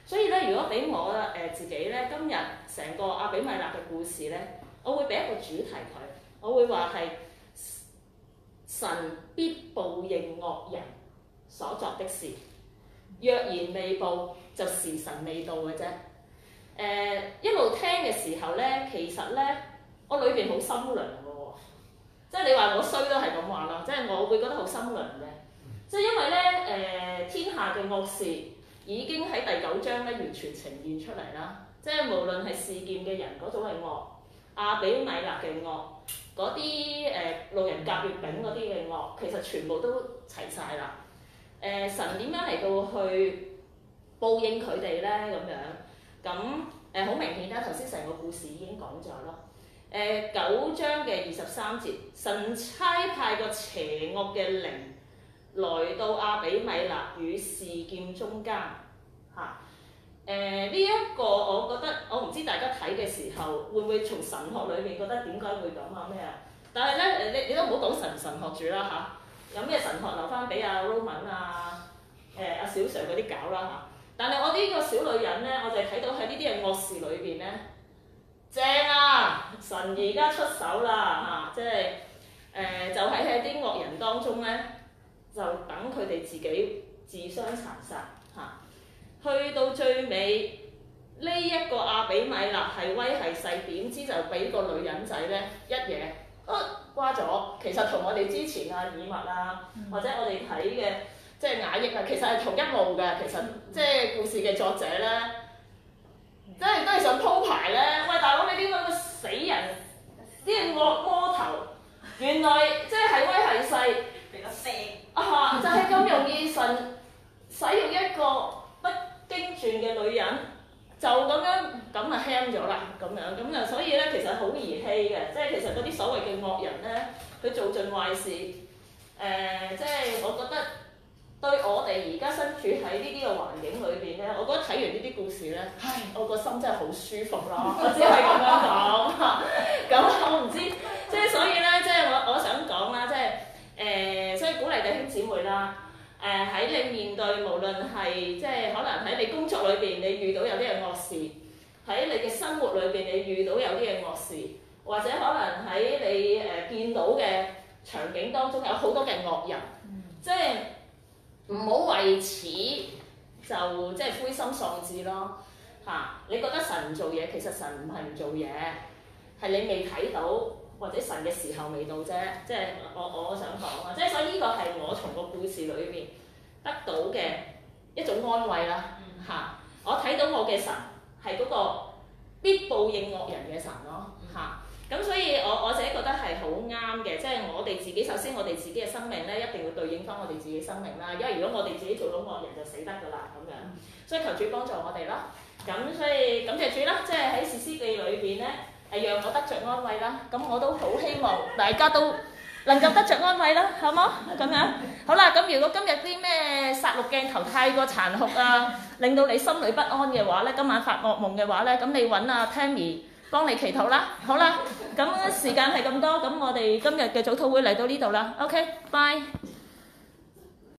所以咧，如果俾我自己咧，今日成個阿比米勒嘅故事咧，我會俾一個主題佢，我會話係神必報應惡人所作的事，若然未報，就時辰未到嘅啫。一路聽嘅時候咧，其實咧我裏邊好心涼嘅喎，即係你話我衰都係咁話啦，即係我會覺得好心涼嘅，即係因為咧天下嘅惡事已經喺第9章咧完全呈現出嚟啦，即係無論係示劍嘅人嗰種嘅惡，阿比米勒嘅惡，嗰啲路人甲、乙、丙嗰啲嘅惡，其實全部都齊晒啦。神點樣嚟到去報應佢哋咧？咁樣咁好明顯啦，頭先成個故事已經講咗咯。9章嘅23節，神差派個邪惡嘅靈來到阿比米勒與示劍中間嚇。呢一個我覺得，我唔知大家睇嘅時候會唔會從神學裏面覺得點解會咁啊咩啊？但係咧，你都唔好講神學住啦嚇，有咩神學留翻俾阿 Roman 阿小 Sir 嗰啲搞啦嚇。但係我呢個小女人咧，我就睇到喺呢啲嘅惡事裏邊咧，正啊！神而家出手啦嚇，即係就喺啲惡人當中咧，就等佢哋自己自相殘殺嚇。去到最尾，呢一個阿比米勒係威係勢，點知就俾個女人仔咧一嘢瓜咗。其實同我哋之前以物或者我哋睇嘅即係雅億其實係同一路嘅。其實即係故事嘅作者咧，即係都係想鋪排咧。喂，大佬你啲咁嘅死人，啲惡魔頭，原來即係威係勢， 比較聲就係咁容易神使用一個不經傳嘅女人，就咁輕咗啦，咁啊，所以咧其實好兒戲嘅，即係其實嗰啲所謂嘅惡人咧，佢做盡壞事，即係我覺得對我哋而家身處喺呢啲嘅環境裏邊咧，我覺得睇完呢啲故事咧，我個心真係好舒服咯，我只係咁樣講，咁我唔知，即係所以咧，即係我想講啦，即係所以鼓勵弟兄姊妹啦。喺你面對無論係即係可能喺你工作裏邊，你遇到有啲嘅惡事；喺你嘅生活裏邊，你遇到有啲嘅惡事，或者可能喺你見到嘅場景當中有好多嘅惡人，即係唔好為此就即係灰心喪志咯嚇。你覺得神唔做嘢，其實神唔係唔做嘢，係你未睇到。或者神嘅時候未到啫，即係我想講啊，即係所以呢個係我從個故事裏邊得到嘅一種安慰啦嚇。我睇到我嘅神係嗰個必報應惡人嘅神咯嚇。咁所以我自己覺得係好啱嘅，即係我哋自己首先我哋自己嘅生命咧一定要對應翻我哋自己生命啦，因為如果我哋自己做到惡人就死得㗎啦咁樣。所以求主幫助我哋啦。咁所以感謝主啦，即係喺士師記裏邊咧。讓我得着安慰啦，咁我都好希望大家都能夠得着安慰啦，好冇？咁樣好啦，咁如果今日啲咩殺戮鏡頭太過殘酷令到你心裏不安嘅話咧，今晚發惡夢嘅話咧，咁你揾阿 Tammy 幫你祈禱啦，好啦，咁時間係咁多，咁我哋今日嘅早禱會嚟到呢度啦 ，OK，bye。